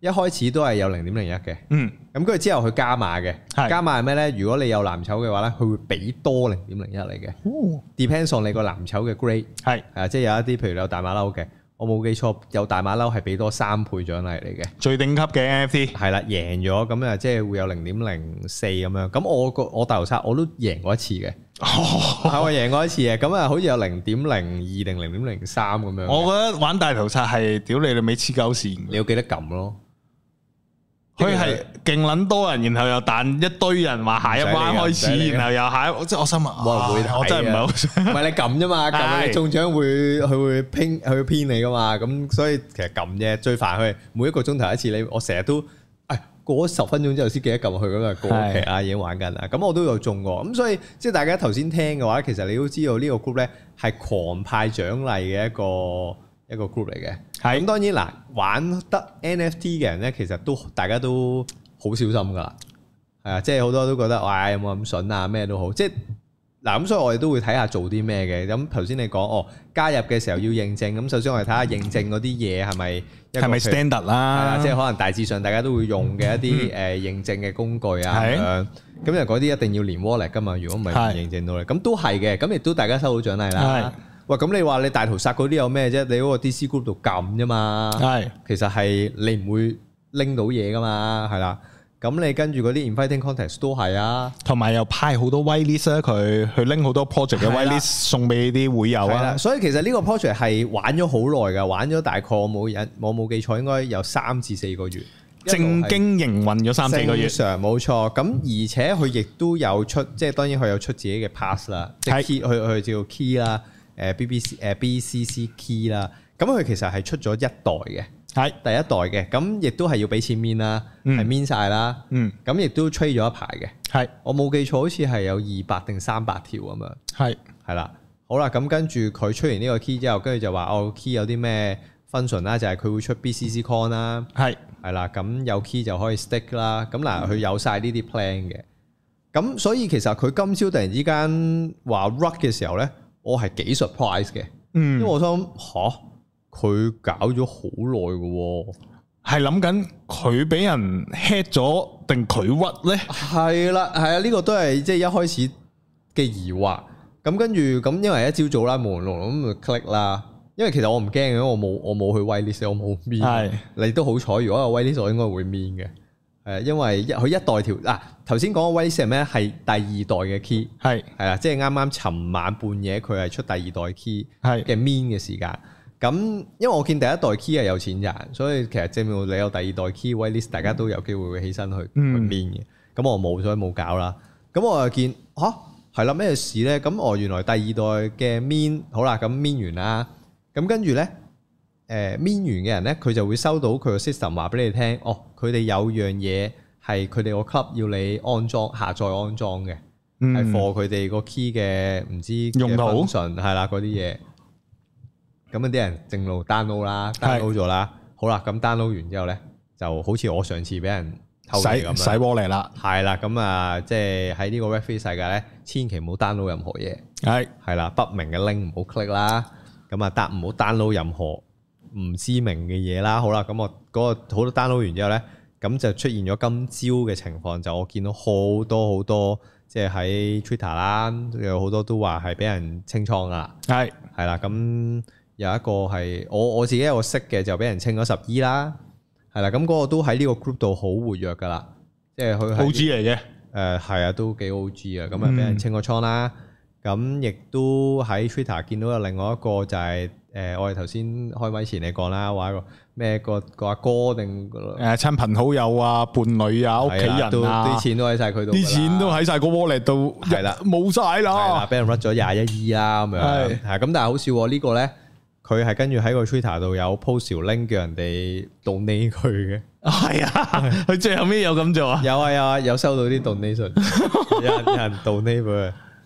一開始都係有零點零一嘅， 嗯， 咁跟住之後佢加碼嘅，加碼係咩咧？如果你有藍籌嘅話咧，佢會俾多零點零一嚟嘅。哦 ，depends on 你個藍籌嘅 grade，係啊，即係有一啲譬如你有大馬騮嘅，我冇記錯有大馬騮係俾多三倍獎勵嚟嘅， 最頂級嘅 N F T 係啦，贏咗咁啊，即係會有零點零四咁樣。咁我個我大頭殺我都贏過一次嘅。係我贏過一次嘅，咁啊，好似有零點零二定零點零三咁樣。 我覺得玩大頭殺係屌你你尾黐鳩線， 你要記得撳咯。 佢係勁撚多人，然後又彈一堆人話下一彎開始，然後又下一，即係我心啊， 冇人會睇， 我真係唔係好想。 唔係你撳啫嘛，撳你中獎會佢會拼佢會編你噶嘛，咁所以其實撳啫，最煩佢每一個鐘頭一次，你我成日都。過咗十分鐘之後先記得撳去咁啊，過期啊已經玩緊啦。咁我都有中過，咁所以即係大家頭先聽嘅話，其實你都知道呢個 group 咧係狂派獎勵嘅一個一個 group 嚟嘅。係咁當然嗱，玩得 N F T 嘅人咧，其實都大家都好小心噶啦。係啊，即係好多都覺得哇有冇咁筍啊咩都好，即係嗱咁，所以我哋都會睇下做啲咩嘅。咁頭先你講哦，加入嘅時候要認證，咁首先我哋睇下認證嗰啲嘢係咪係咪 standard 啦， 即係可能大致上大家都會用嘅一啲誒認證嘅工具啊咁樣。咁因為嗰啲一定要連 wallet 噶嘛，如果唔係唔認證到咧，咁都係嘅。咁亦都大家收到獎勵啦。喂，咁你話你大屠殺嗰啲有咩啫？你嗰個 D C Group 度撳啫嘛。係，其實係你唔會拎到嘢噶嘛，係啦。咁你跟住嗰啲 inviting contest 都係啊，同埋又派好多 whitelist 啊，佢去拎好多 project 嘅 whitelist 送俾啲會友啊。所以其實呢個 project 係玩咗好耐㗎，玩咗大概我冇印我冇記錯應該有三至四個月，正經營運咗三四個月。正常冇錯。咁而且佢亦都有出，即係當然佢有出自己嘅 pass 啦，即係 key 佢佢叫 key 啦，誒 B B C 誒 B C C key 啦。咁佢其實係出咗一代嘅。係第一代嘅，咁亦都係要俾錢 mint 啦，係 mint 晒啦，咁亦都 trade 咗一排嘅。係我冇記錯，好似係有二百定三百條咁樣。係係啦，好啦，咁跟住佢出完呢個 key 之後，跟住就話哦 key 有啲咩 function 啦，就係佢會出 B C C coin 啦。係係啦，咁有 key 就可以 stick 啦。咁嗱，佢有晒呢啲 plan 嘅。咁所以其實佢今朝突然之間話 rug 嘅時候咧，我係幾 surprise 嘅。嗯，因為我想吓。佢搞咗好耐嘅，係諗緊佢俾人 hit 咗定佢屈咧？係啦，係啊，呢個都係即係一開始嘅疑惑。咁跟住咁，因為一朝早啦，朦朦朧朧咁就 click 啦。因為其實我唔驚嘅，我冇我冇去 whitelist，我冇 mint。係你都好彩，如果有 whitelist，我應該會 mint 嘅。誒，因為一佢一代條嗱，頭先講嘅 whitelist 係咩？係第二代嘅 key，係係啦，即係啱啱尋晚半夜佢係出第二代 key 係嘅 mint 嘅時間。咁，因為我見第一代 key 係有錢賺，所以其實證明你有第二代 key whitelist，大家都有機會會起身去去 mint 嘅。咁我冇，所以冇搞啦。咁我又見吓係啦，咩事咧？咁我原來第二代嘅 mint 好啦，咁 mint 完啦。咁跟住咧，誒 mint 完嘅人咧，佢就會收到佢個 system 話俾你聽，哦，佢哋有樣嘢係佢哋個 club 要你安裝下載安裝嘅，係 for 佢哋個 key 嘅唔知用途係啦嗰啲嘢。咁啲人正路 download 啦 ，download 咗啦，好啦，咁 download 完之後咧，就好似我上次俾人偷嚟咁樣，洗鍋嚟啦，係啦，咁啊，即係喺呢個 Web 三世界咧，千祈唔好 download 任何嘢，係係啦，不明嘅 link 唔好 click 啦，咁啊，得唔好 download 任何唔知名嘅嘢啦，好啦，咁我嗰個好多 download 完之後咧，咁就出現咗今朝嘅情況，就我見到好多好多，即係喺 Twitter 啦，有好多都話係俾人清倉啊，係係啦，咁。有一個係我我自己有個識嘅就俾人清咗十 E 啦，係啦，咁嗰個都喺呢個 group 度好活躍噶啦，即係佢 O G 嚟嘅，誒係啊，都幾 O G 啊，咁啊俾人清咗倉啦，咁亦都喺 Twitter 見到有另外一個就係誒我哋頭先開咪前你講啦，話一個咩個個阿哥定誒親朋好友啊、伴侶啊、屋企人啊，啲錢都喺晒佢度，啲錢都喺晒個 wallet 度，係啦，冇晒啦，係啦，俾人 run 咗廿一 E 啦咁樣，係係咁，但係好笑呢個咧。佢係跟住喺個 Twitter 度有 post 條 link 叫人哋 donate 佢嘅，係啊，佢最後尾有咁做啊？有啊有啊，有收到啲 donation，有人有人 donate 佢，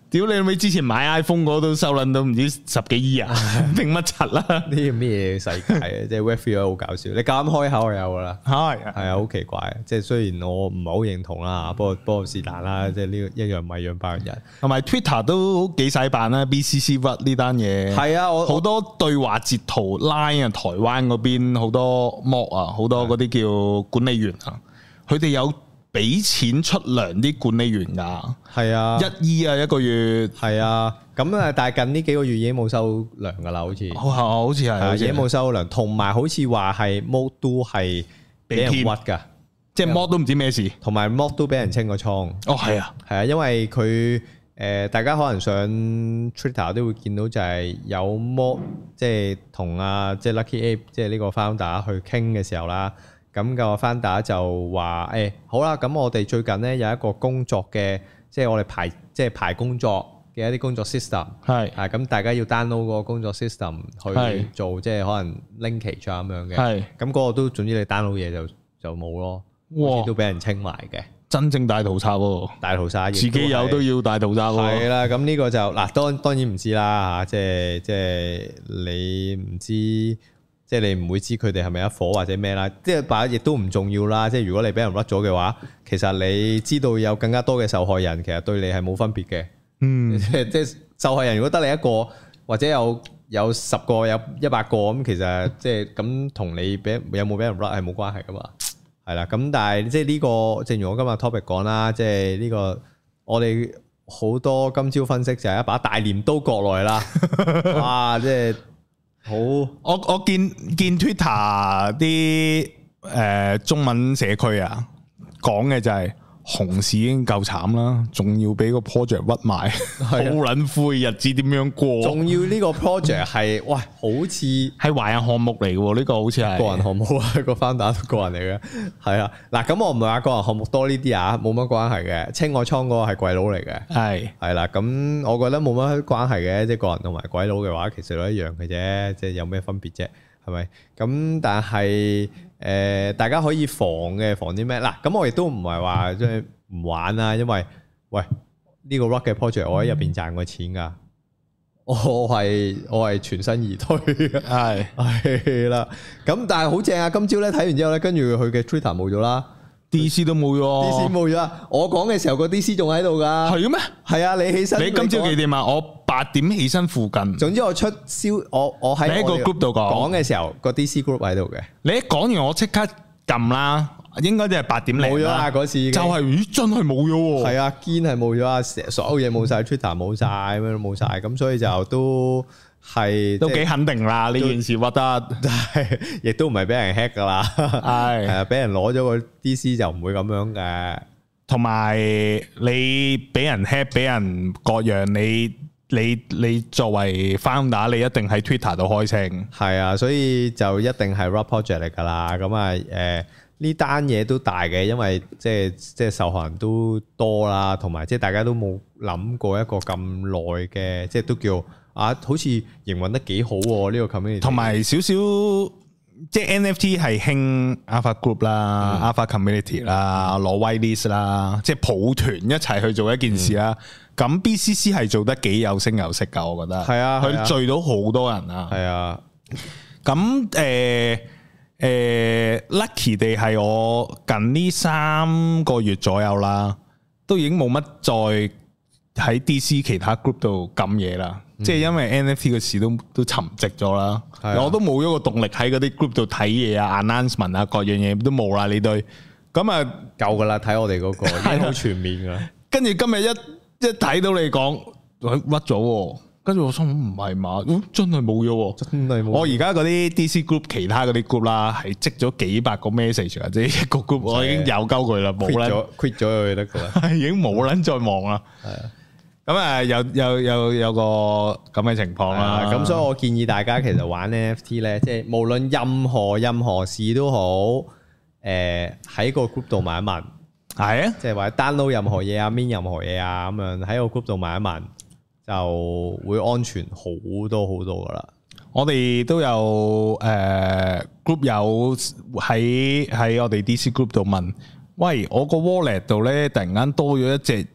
屌你咪之前買 iPhone 嗰都收撚到唔知十幾億啊，定乜柒啦？ 呢啲咩世界啊？即係 Web three 好搞笑，你咁開口就有噶啦， 係係啊，好奇怪。即係雖然我唔係好認同啦，不過不過是但啦，即係呢個一樣米養百樣人。 同埋 Twitter 都幾洗版啦 ，B C C What 呢單嘢係啊，我好多對話截圖 Line 啊，台灣嗰邊好多 mob 啊，好多嗰啲叫管理員啊，佢哋有俾錢出糧啲管理員噶，係啊，一億啊一個月，係啊，咁啊，但係近呢幾個月已經冇收糧噶啦，好似，好好似係，已經冇收糧，同埋好似話係 mod 都係俾人屈噶，即係 mod 都唔知咩事，同埋 mod 都俾人清個倉，哦係啊，係啊，因為佢誒，大家可能上 Twitter 都會見到就係有 mod，即係同啊即係 Lucky Ape，即係呢個 founder 去傾嘅時候啦。咁個 founder 就話誒、欸、好啦，咁我哋最近咧有一個工作嘅，即係我哋排即係排工作嘅一啲工作 system， 係啊，咁大家要 download 個工作 system 去做，即係可能 linkage 啊咁樣嘅，係咁嗰個都總之你 download 嘢就就冇咯，哇，都俾人清埋嘅，真正大屠殺喎，大屠殺，自己有都要大屠殺喎，係啦，咁呢個就嗱當當然唔知啦嚇，即係即係你唔知。即係你唔會知佢哋係咪一夥或者咩啦，即係把亦都唔重要啦。即係如果你俾人屈咗嘅話，其實你知道有更加多嘅受害人，其實對你係冇分別嘅。嗯，即係即係受害人如果得你一個，或者有有十個有一百個咁，其實即係咁同你俾有冇俾人屈係冇關係噶嘛。係啦，咁但係即係呢個，正如我今日 topic 講啦，即係呢個我哋好多今朝分析就係一把大鐮刀割來啦。哇！即係〜好，我我見見 Twitter 啲誒、呃、中文社區啊，講嘅就係熊市已經夠慘啦，仲要俾個 project 屈埋，好撚灰，日子點樣過？仲要呢個 project 係，喂，好似係華人項目嚟嘅，呢、這個好似係個人項目啊，個 founder 都個人嚟嘅，係啊，嗱，咁我唔係話個人項目多呢啲啊，冇乜關係嘅，清我倉嗰個係鬼佬嚟嘅，係係啦，咁我覺得冇乜關係嘅，即係個人同埋鬼佬嘅話，其實都一樣嘅啫，即係有咩分別啫？係咪？咁但係誒、呃，大家可以防嘅，防啲咩？嗱，咁我亦都唔係話即係唔玩啦，因為喂呢、這個 Rock 嘅 project 我喺入邊賺過錢噶，我係我係全身而退嘅，係係啦。咁但係好正啊！今朝咧睇完之後咧，跟住佢嘅 Twitter 冇咗啦。D C 都冇咗 ，D C 冇咗啊！我講嘅時候個 D C 仲喺度噶，係嘅咩？係啊，你起身，你今朝幾點啊？我八點起身附近。總之我出消，我我喺你喺個 group 度講講嘅時候，個 D C group 喺度嘅。你一講完，我即刻撳啦，應該都係八點零。冇咗啊！嗰次就係咦，真係冇咗。係啊，堅係冇咗啊！成所有嘢冇晒 ，Twitter 冇晒，咩都冇晒，咁所以就都。係都幾肯定啦，呢件事屈得，係亦都唔係俾人 hack 噶啦，係係啊，俾人攞咗個 D C 就唔會咁樣嘅。同埋你俾人 hack，俾人各樣，你你你作為 founder，你一定喺 Twitter 度開聲。係啊，所以就一定係 Rock project 嚟噶啦。咁啊，誒呢單嘢都大嘅，因為即係即係受害人都多啦，同埋即係大家都冇諗過一個咁耐嘅，即係都叫。啊，好似營運得幾好喎！呢、這個 community 同埋少少即係 N F T 係興 Alpha Group 啦、嗯、Alpha Community 啦、攞 Whitelist 啦，即係抱團一齊去做一件事啦。咁、嗯、B C C 係做得幾有聲有色㗎，我覺得。係啊，佢聚到好多人啊。係啊。咁誒誒 lucky 地係我近呢三個月左右啦，都已經冇乜再喺 D C 其他 group 度撳嘢啦。即係因為 N F T 嘅事都都沉寂咗啦，啊、我都冇咗個動力喺嗰啲 group 度睇嘢啊、announcement 啊各樣嘢都冇啦呢堆，咁啊夠噶啦，睇我哋嗰、嗰個已經好全面噶。跟住今日一一睇到你講屈咗，跟住我心諗唔係嘛，真係冇咗，真係冇。我而家嗰啲 D C group 其他嗰啲 group 啦，係積咗幾百個 message 或者一個 group，我已經有鳩佢啦，冇啦 quit 咗佢得噶啦，已經冇撚再望啦。係啊。咁啊，有有有有個咁嘅情況啦，咁所以我建議大家其實玩 N F T 咧，即係無論任何任何事都好，誒喺個 group 度問一問，係啊，即係或者 download 任何嘢啊，mint 任何嘢啊，咁樣喺個 group 度問一問，就會安全好多好多噶啦。我哋都有誒 group 友喺喺我哋 D C group 度問，喂，我個 wallet 度咧突然間多咗一隻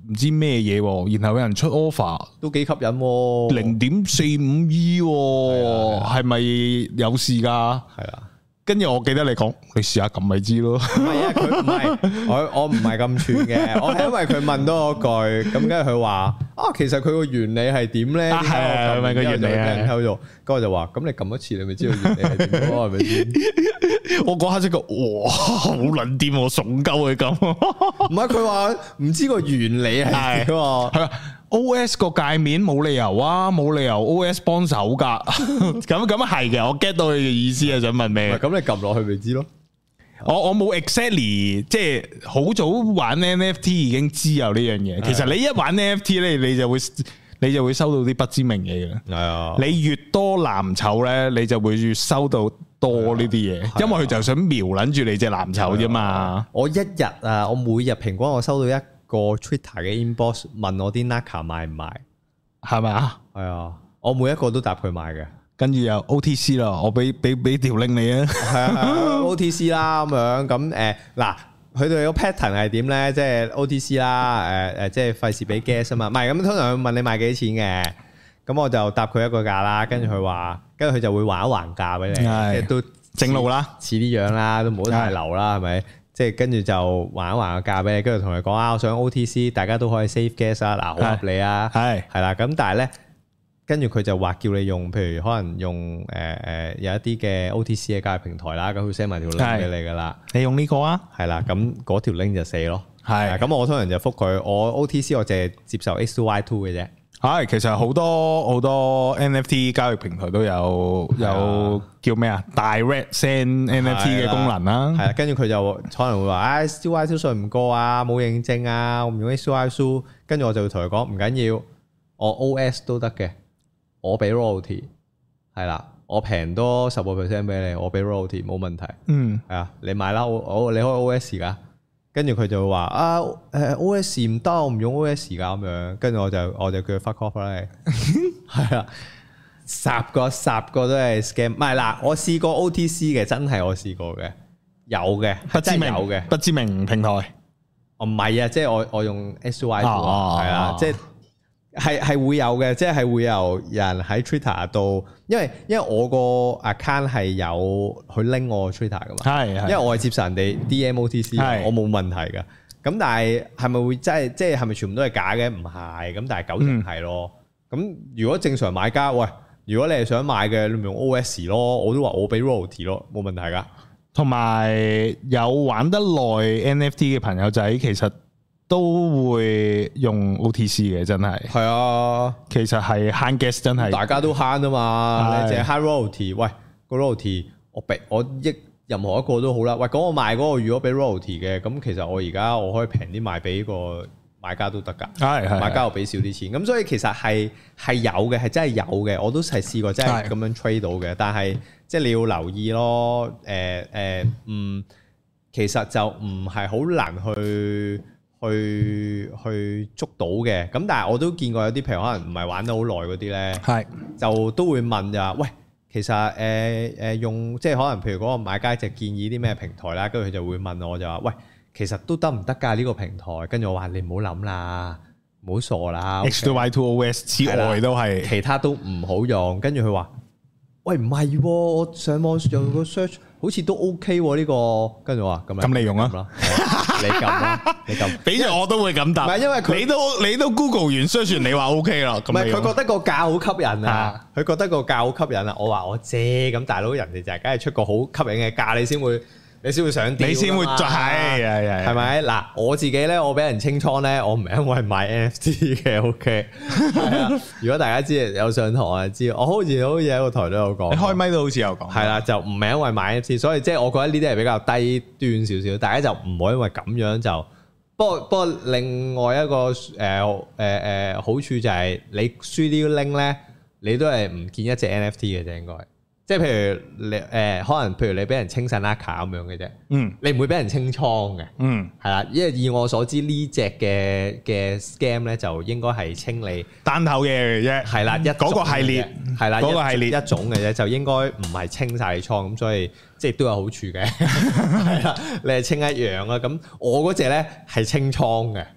唔知咩嘢，然後有人出 offer 都幾吸引喎， 零點四五 E， 係咪有事噶？ 係啊。 跟住我記得你講，你試下撳咪知咯。唔係啊，佢唔係我我唔係咁串嘅，我係因為佢問多我句，咁跟住佢話啊，其實佢個原理係點咧？ 係係問個原理啊， 偷咗，跟住我就話，咁你撳一次，你咪知道原理係點咯，係咪先？ 我嗰刻即個，哇，好撚掂，我慫鳩佢咁。 唔係佢話唔知個原理係點啊？ 係啊。O S 個界面冇理由啊，冇理由 O S 幫手噶，咁咁係嘅，我 get 到你嘅意思啊，想問咩？ 咁你撳落去咪知咯。 我我冇 exactly， 即係好早玩 N F T 已經知有呢樣嘢。其實你一玩 N F T 咧，你就會你就會收到啲不知名嘢嘅。係啊，你越多藍籌咧，你就會越收到多呢啲嘢，因為佢就想瞄撚住你隻藍籌啫嘛。我一日啊，我每日平均我收到一個 Twitter 嘅 inbox 問我啲 Naka 賣唔賣，係咪啊？係啊，我每一個都答佢賣嘅，跟住又 O T C 啦，我俾俾俾條 link 你啊，係啊 O T C 啦咁樣，咁誒嗱，佢哋個 pattern 係點咧？即係 O T C 啦，誒誒，即係費事俾 guess 啊嘛，唔係咁通常佢問你賣幾錢嘅，咁我就答佢一個價啦，跟住佢話，跟住佢就會還一還價俾你，即係都正路啦，似啲樣啦，都唔好太流啦，係咪？即係跟住就還一還個價俾你，跟住同佢講啊，我想 O T C， 大家都可以 save gas 啊，嗱好合理啊，係係啦，咁但係咧，跟住佢就話叫你用，譬如可能用誒誒、呃、有一啲嘅 O T C 嘅交易平台啦，咁佢 send 埋條 link 俾你噶啦，你用呢個啊，係啦，咁嗰條 link 就死咯，係，咁我通常就覆佢，我 O T C 我淨係接受 X two Y two 嘅啫。係，其實好多好多 N F T 交易平台都有有叫咩啊 ，Direct Send N F T 嘅功能啦。係啊，跟住佢就可能會話，唉 ，X two Y two 信唔過啊，冇認證啊，我唔用 X two Y two。跟住我就會同佢講，唔緊要，我 O S 都得嘅，我俾 royalty， 係啦，我平多十個 percent 俾你，我俾 royalty 冇問題。嗯，係啊，你買啦，我我你可以 O S 噶。跟住佢就會話啊，誒 O S 唔得，我唔用 O S 噶咁樣。跟住我就我就叫佢 fuck off 啦。係啊，十個十個都係 scam。唔係嗱，我試過 O T C 嘅，真係我試過嘅，有嘅，不知名有嘅，不知名平台。哦，唔係啊，即係我我用 S Y 係啊，即係係係會有嘅，即係會有人喺 Twitter 度，因為因為我個 account 係有去拎我 Twitter 噶嘛，係，因為我係接受人哋 D M O T C，我冇問題噶。咁但係係咪會真係即係係咪全部都係假嘅？唔係，咁但係九成係咯。咁、嗯、如果正常買家，喂，如果你係想買嘅，你咪用 O S 咯，我都話我俾 royalty 咯，冇問題噶。同埋有，有玩得耐 N F T 嘅朋友仔，其實都會用 O T C 嘅，真係。係啊，其實係慳 gas 真係。大家都慳啊嘛，你淨係慳 royalty。喂，個 royalty 我俾我益任何一個都好啦。喂，講我賣嗰個如果俾 royalty 嘅，咁其實我而家我可以平啲賣俾個買家都得㗎。係係，買家我俾少啲錢。咁所以其實係係有嘅，係真係有嘅。我都係試過真係咁樣 trade 到嘅。但係即係你要留意咯。誒、呃、誒、呃，嗯，其實就唔係好難去。去去捉到嘅，咁但係我都見過有啲譬如可能唔係玩得好耐嗰啲咧，係就都會問就話，喂，其實誒誒、呃、用即係可能譬如嗰個買家就建議啲咩平台啦，跟住佢就會問我就話，喂，其實都得唔得㗎呢個平台？跟住我話你唔好諗啦，唔好傻啦 ，X two Y two O S 之外都係其他都唔好用。跟住佢話，喂，唔係喎，我上網有個 search 好似都 OK 喎呢個，跟住我話咁樣，咁你用啊？你撳啦，你撳，俾住我都會咁答。唔係因為佢，你都你都 Google 完 search 完，你話 OK 啦。唔係佢覺得個價好吸引啊，佢覺得個價好吸引啊。我話我借咁大佬，人哋就係梗係出個好吸引嘅價，你先會你先會上釣，你先會係係係係咪？嗱，我自己咧，我俾人清倉咧，我唔係因為買 N F T 嘅 OK。係啊，如果大家知有上堂啊，知我好似好似喺個台都有講，你開咪都好似有講。係啦，就唔係因為買 N F T，所以即係我覺得呢啲係比較低端少少，大家就唔好因為咁樣就。不過不過另外一個誒誒誒好處就係你輸啲 link 咧，你都係唔見一隻 N F T 嘅啫，應該。即係譬如你誒、呃，可能譬如你俾人清晒 Naka 咁樣嘅啫，嗯，你唔會俾人清倉嘅，嗯，係啦，因為以我所知呢隻嘅嘅 scam 咧就應該係清理單頭嘅啫，係啦，一嗰個系列係啦，嗰個系列一種嘅啫，就應該唔係清晒你倉咁，所以即係都有好處嘅，係啦，你係清一樣啦，咁我嗰隻咧係清倉嘅。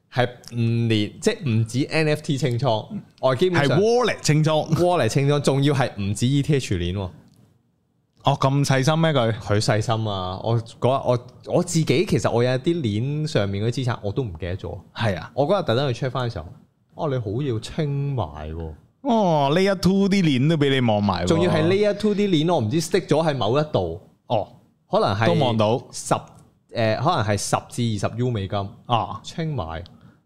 係唔連即係唔止 N F T 清倉，我基本上係 wallet 清倉 ，wallet 清倉，仲要係唔止 E T H 鏈。 哦，咁細心咩佢？ 佢細心啊！我嗰日我我自己其實我有啲鏈上面嗰啲資產我都唔記得咗。係啊，我嗰日特登去 check 翻嘅時候，哦，你好要清埋喎。哦 ，Layer two 啲鏈都俾你望埋， 仲要係 Layer two 啲鏈，我唔知 stick 咗喺某一度。哦，可能係都望到十誒，可能係十至二十 U 美金啊，清埋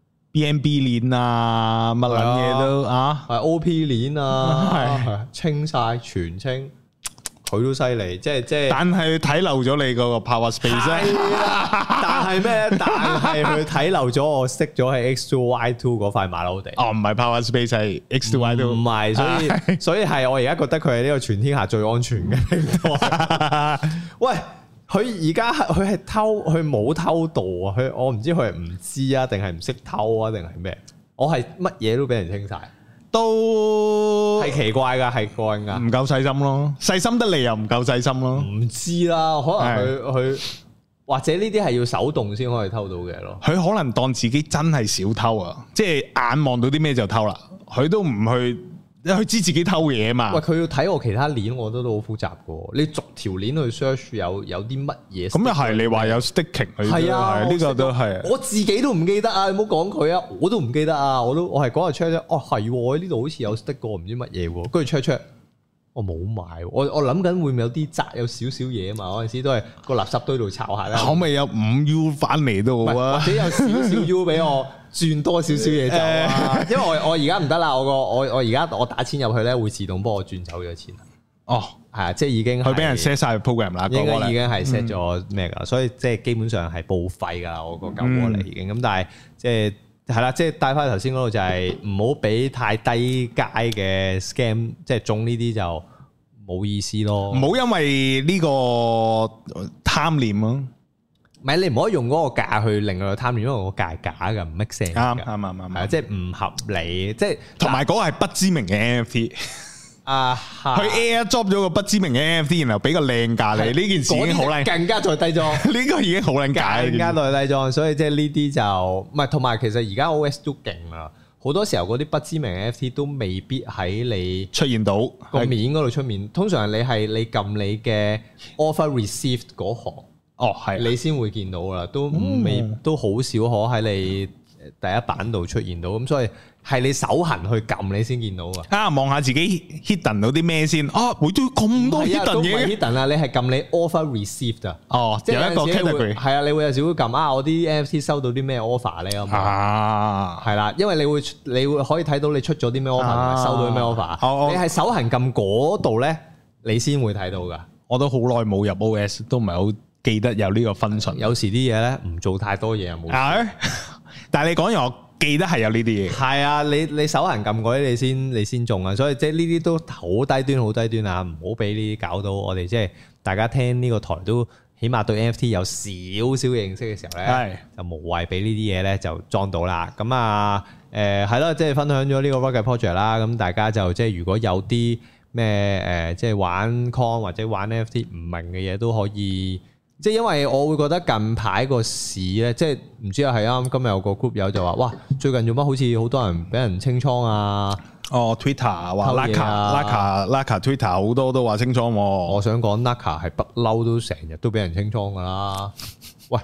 B N B 鏈啊，乜撚嘢都啊， 係 O P 鏈啊，係清晒全清。佢都犀利，即係即係， 但係睇漏咗你嗰個 power space 啊！但係咩？但係佢睇漏咗我識咗係 X two Y two 嗰塊馬騮地。哦， 唔係 power space 係 X two Y two， 唔係，所以所以係我而家覺得佢係呢個全天下最安全嘅平台。喂，佢而家佢係偷，佢冇偷渡啊！佢我唔知佢係唔知啊，定係唔識偷啊，定係咩？我係乜嘢都俾人清晒。都係奇怪噶，係怪噶， 唔夠細心咯，細心得嚟又唔夠細心咯， 唔知啦，可能佢佢或者呢啲係要手動先可以偷到嘅咯， 佢可能當自己真係小偷啊，即係眼望到啲咩就偷啦，佢都唔去。佢知自己偷嘢嘛？ 喂，佢要睇我其他鏈，我覺得都好複雜噶。你逐條鏈去 search 有有啲乜嘢？ 咁又係你話有 sticking， 係啊， 呢個都係。 我自己都唔記得啊！你唔好講佢啊，我都唔記得啊！我都我係嗰日 check 啫。哦，係呢度好似有 stick 過，唔知乜嘢喎。跟住 check check，我冇買。我我諗緊會唔會有啲雜有少少嘢啊嘛？嗰陣時都係個垃圾堆度抄下啦。 可唔可以有五 U 翻嚟都好啊？ 或者有少少 U 俾我。轉多少少嘢走啊！因為我我而家唔得啦，我個我我而家我打錢入去咧，會自動幫我轉走咗錢。哦，係啊，即係已經佢俾人 set 晒 program 啦， 應該已經係 set 咗咩噶，所以即係基本上係報廢噶，我個舊窩嚟已經。咁但係即係係啦，即係帶翻頭先嗰度就係唔好俾太低階嘅 scam， 即係中呢啲就冇意思咯。 唔好因為呢個貪念咯。 唔係，你唔可以用嗰個價去令佢貪念，因為個價係假嘅，唔 make sense 啱啱啱啱， 係即係唔合理，即係同埋嗰個係不知名嘅 N F T 啊， 佢 airdrop 咗個不知名嘅 N F T， 然後俾個靚價你，呢件事已經好靚， 更加再低裝， 呢個已經好靚價， 更加再低裝，所以即係呢啲就唔係，同埋其實而家 O S 都勁啦，好多時候嗰啲不知名 N F T 都未必喺你出現到個面嗰度出面，通常你係你撳你嘅 offer received 嗰行。哦，係你先會見到啦，都未、嗯、都好少可喺你第一版度出現到，咁所以係你手痕去撳你先見到啊！ 啊，望下自己 hidden 到啲咩先啊！會都咁多 hidden 嘢 hidden 啊！你係撳你 offer received 啊！ 哦，即係有一個 category 係啊，你會有時會撳啊，我啲 N F T 收到啲咩 offer 咧咁啊，係啦，因為你會你會可以睇到你出咗啲咩 offer 同埋收到啲咩 offer， 哦、 你係手痕撳嗰度咧，你先會睇到噶。 我都好耐冇入 O S， 都唔係好記得有呢個 function， 有時啲嘢咧唔做太多嘢啊冇。 但係你講完，我記得係有呢啲嘢。 係啊，你你手痕撳嗰啲，你先你先中啊。所以即係呢啲都好低端，好低端啊！唔好俾呢啲搞到我哋，即係大家聽呢個台都起碼對 N F T 有少少認識嘅時候咧，就無謂俾呢啲嘢咧就裝到啦。咁啊誒係咯，即係分享咗呢個 Rocket Project 啦。咁大家就即係如果有啲咩誒，即係玩 Coin 或者玩 N F T 唔明嘅嘢都可以。即係因為我會覺得近排個市咧，即係唔知啊，係啱今日有個 group 友就話，哇，最近做乜好似好多人俾人清倉啊？ 哦 ，Twitter 話 Laka，Laka，Laka Twitter 好多都話清倉。 我想講 Laka 係不嬲都成日都俾人清倉噶啦。喂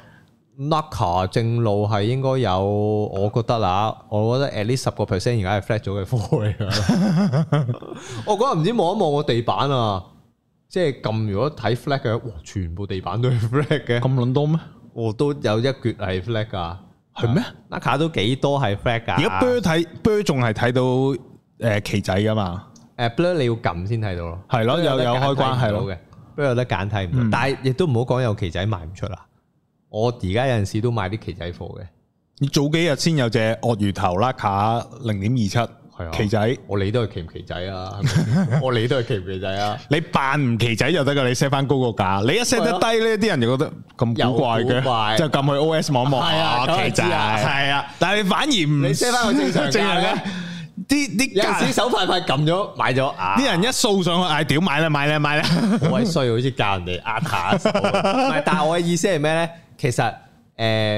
，Laka 正路係應該有，我覺得啦，我覺得 at least 十個 percent 而家係 flat 咗嘅貨嚟噶。我嗰日唔知望一望個地板啊。即係撳，如果睇 flag 嘅，哇！全部地板都係 flag 嘅， 咁撚多咩？ 我都有一橛係 flag 噶， 係咩 ？Naka 都幾多係 flag 噶？ 而家 blur 睇 blur 仲係睇到誒旗仔噶嘛？ 誒 blur 你要撳先睇到咯， 係咯，有有開關係咯嘅 ，blur 有得揀睇唔到，但係亦都唔好講有旗仔賣唔出啦。我而家有陣時都買啲旗仔貨嘅。 你早幾日先有隻鱷魚頭 Naka 零點二七。旗仔， 我理都係旗唔旗仔啊！我理都係旗唔旗仔啊！ 你扮唔旗仔就得噶，你 set 翻高個價，你一 set 得低咧，啲人就覺得咁古怪嘅，就撳去 O S 望一望啊，旗仔係啊，但係你反而唔你 set 翻個正常價嘅， 啲啲有陣時手快快撳咗買咗， 啲人一掃上去嗌屌買啦買啦買啦， 好鬼衰，好似教人哋壓下手。唔係，但係我嘅意思係咩咧？其實誒。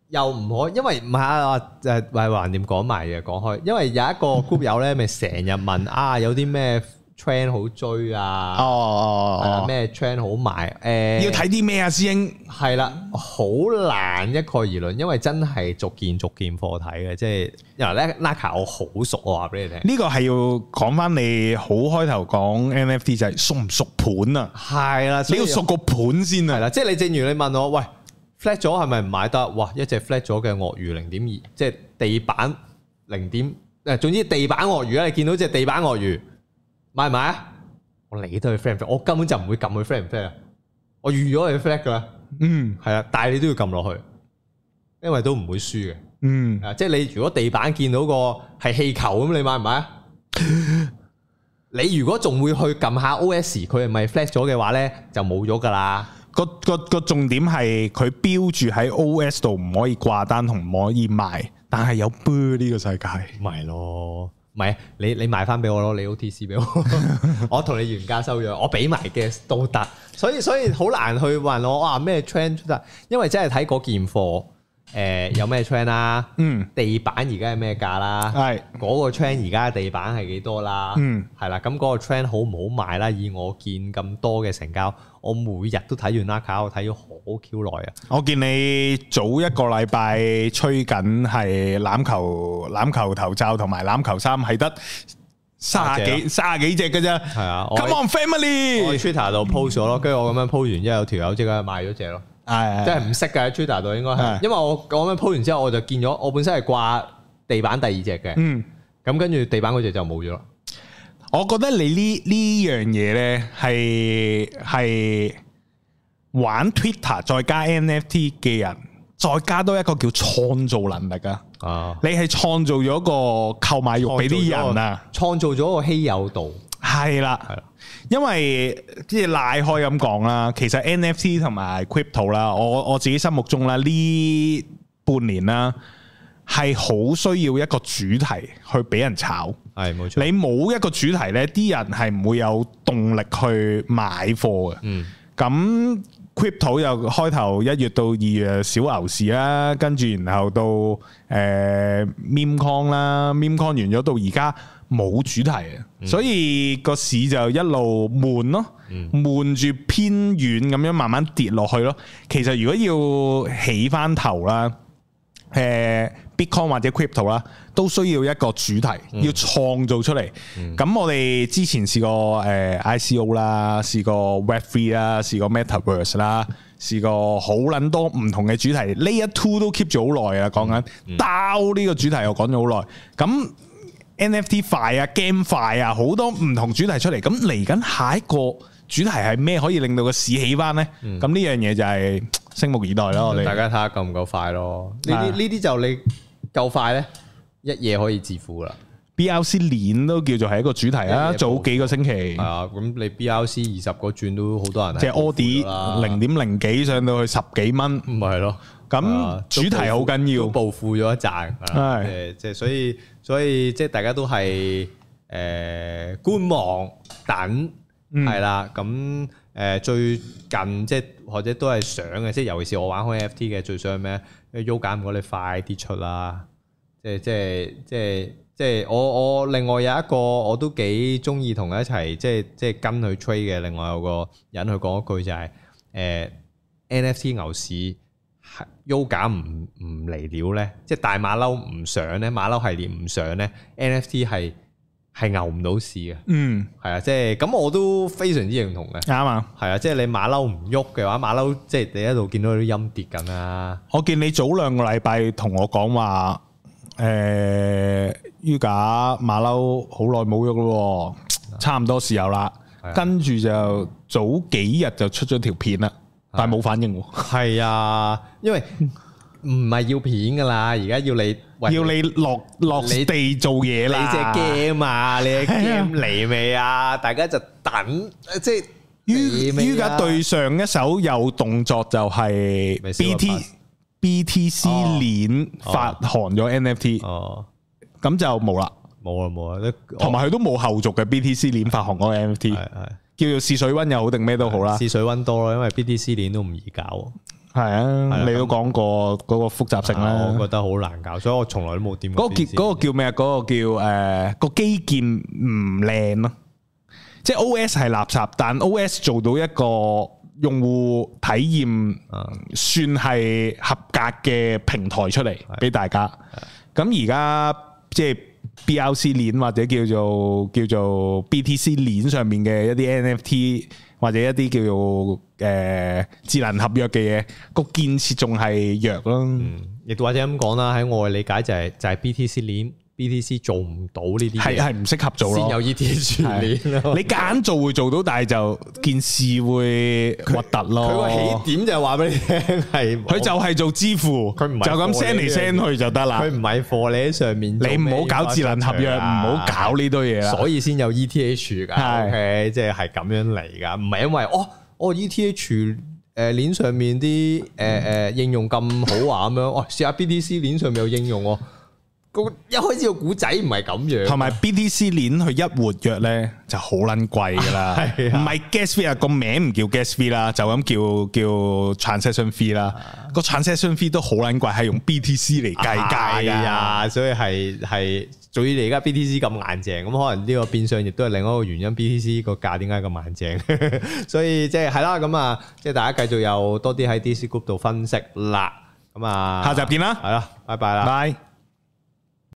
又唔可，因為唔係啊，誒，係橫掂講埋嘅，講開，因為有一個 group 友咧，咪成日問啊，有啲咩 trend 好追啊？哦哦哦，咩 trend 好賣？誒， 要睇啲咩啊，師兄？ 係啦，好難一概而論，因為真係逐件逐件貨睇嘅，即係因為咧 Naka 我好熟，我話俾你聽。呢個係要講翻你好開頭講 N F T 就係熟唔熟盤啊？ 係啦， 你要熟個盤先啊。 係啦，即係你正如你問我，喂。flat 咗係咪唔買得？哇！一隻 flat 咗嘅鱷魚零點二，即係地板零點誒，總之地板鱷魚咧，你見到隻地板鱷魚買唔買啊？我理得佢 flat 唔 flat，我根本就唔會撳佢 flat 唔 flat 啊！我預咗佢 flat 噶啦，嗯，係啊，但係你都要撳落去，因為都唔會輸嘅，嗯，啊，即係你如果地板見到個係氣球咁，你買唔買啊？你如果仲會去撳下 O S， 佢係咪 flat 咗嘅話咧，就冇咗噶啦。 個個個重點係佢標住喺 O S 度唔可以掛單同唔可以賣，但係有 bird 呢個世界， 咪咯，唔係你你賣翻俾我咯，你 O T C 俾我，我同你原價收咗，我俾埋嘅都得，所以所以好難去問我哇咩 trend 出得，因為真係睇嗰件貨。誒、呃、有咩 trend 啦？嗯，地板而家係咩價啦？係嗰個 trend 而家嘅地板係幾多啦？嗯，係啦，咁嗰個 trend 好唔好賣啦？以我見咁多嘅成交，我每日都睇完 Naka，我睇咗好 Q 耐啊！ 我見你早一個禮拜吹緊係欖球欖球頭罩同埋欖球衫係得卅幾卅幾隻嘅啫。係啊 ，Come on family！ 我喺 Twitter 度 post 咗咯，跟住我咁樣 post 完之後，有條友即刻賣咗隻咯。係，即係唔識嘅喺 Twitter 度應該係，因為我咁樣 po 完之後，我就見咗我本身係掛地板第二隻嘅，嗯，咁跟住地板嗰隻就冇咗啦。 我覺得你呢呢樣嘢咧係係玩 Twitter 再加 N F T 嘅人，再加多一個叫創造能力啊！啊，你係創造咗個購買欲俾啲人啊， 創造咗個稀有度。 係啦，係啦，因為即係賴開咁講啦，其實 N F T 同埋 crypto 啦，我我自己心目中啦，呢半年啦係好需要一個主題去俾人炒，係冇錯。你冇一個主題呢，啲人係唔會有動力去買貨嘅。嗯，咁 crypto 又開頭一月到二月小牛市啦，跟住然後到誒 meme coin 啦 ，meme coin 完咗到而家。冇主題啊，嗯、所以個市就一路悶咯，悶住、嗯、偏遠咁樣慢慢跌落去咯。其實如果要起翻頭啦，誒、呃、Bitcoin 或者 Crypto 啦，都需要一個主題，嗯、要創造出嚟。咁、嗯、我哋之前試過誒 I C O 啦，試過 Web three 啦，試過 Metaverse 啦，試過好撚多唔同嘅主題。Layer two 都 keep 咗好耐啊，講緊 DAO 呢個主題我講咗好耐。咁N F T 快啊 ，game 快啊，好多唔同主題出嚟，咁嚟緊下一個主題係咩可以令到個市起翻呢？咁呢、嗯、樣嘢就係拭目以待咯。我哋、嗯、大家睇下夠唔夠快咯？呢啲呢啲就你夠快呢，一夜可以致富啦。 B R C 鏈都叫做係一個主題啊，早幾個星期係啊，咁你 B R C 二十個轉都好多人， 即係 Audi 零點零幾上到去十幾蚊， 唔係咯。 咁主題好緊要， 都暴富咗一陣，係即係所以所以即係大家都係誒觀望等係啦。咁誒最近即係或者都係想嘅，即係尤其是我玩開 N F T 嘅，最想咩？U 減唔該你快啲出啦！即係即係即係即係我我另外有一個我都幾中意同佢一齊即係即係跟佢 trade 嘅，另外有個人去講一句就係誒 N F T 牛市。U 減唔唔嚟了咧，即係大馬騮唔上咧，馬騮系列唔上咧 ，N F T 係係牛唔到市嘅。嗯，係啊，即係咁我都非常之認同嘅。啱啊，係啊，即係你馬騮唔喐嘅話，馬騮即係你喺度見到啲陰跌緊啊。 我見你早兩個禮拜同我講話，誒 U 減馬騮好耐冇喐咯，差唔多時候啦，跟住就早幾日就出咗條片啦。但係冇反應喎， 係啊，因為唔係要片噶啦，而家要你要你落落地做嘢啦， 你隻 game 啊，你隻 game 嚟未啊？大家就等，即係於於家對上一手有動作就係 B T B T C 鏈發行咗 N F T，哦，咁就冇啦， 冇啦冇啦， 同埋佢都冇後續嘅 B T C 鏈發行嗰個 N F T，係係。叫做試水溫又好定咩都好啦， 試水溫多咯，因為 B T C 鏈都唔易搞。 係啊，你都講過嗰個複雜性啦， 我覺得好難搞，所以我從來都冇掂過。 嗰個叫嗰個叫咩啊？嗰個叫誒個基建唔靚咯，即係 O S 係垃圾，但 O S 做到一個用戶體驗算係合格嘅平台出嚟俾大家。咁而家即係 B R C 鏈或者叫做叫做 B T C 鏈上面嘅一啲 N F T 或者一啲叫做誒、呃、智能合約嘅嘢，個建設仲係弱咯。 嗯，亦或者咁講啦，喺我嘅理解就係、是、就係、是、B T C 鏈 B T C 做唔到呢啲嘢， 係係唔適合做咯。 先有 E T H 鏈咯。 你夾硬做會做到，但係就件事會核突咯。 佢個起點就係話俾你聽係， 佢就係做支付，佢唔係就咁 send 嚟 send 去就得啦。 佢唔係貨你喺上面， 你唔好搞智能合約，唔好搞呢堆嘢啦。 所以先有 E T H 噶，OK，即係係咁樣嚟噶，唔係因為哦哦 E T H 誒鏈上面啲誒誒應用咁好啊咁樣，哦試下 B T C 鏈上面有應用喎。一開始個古仔唔係咁樣， 同埋 B T C 鏈佢一活躍咧就好撚貴噶啦，唔係 gas fee 啊，個名唔叫 gas fee 啦，就咁叫叫 transaction fee 啦，個 transaction fee 都好撚貴，係用 B T C 嚟計價噶，所以係係，所以你而家 B T C 咁硬淨，咁可能呢個變相亦都係另一個原因 ，B T C 個價點解咁硬淨？所以即係係啦，咁啊，即係大家繼續有多啲喺 D C Group 度分析啦，咁啊， 下集見啦， 係啦，拜拜啦， 拜。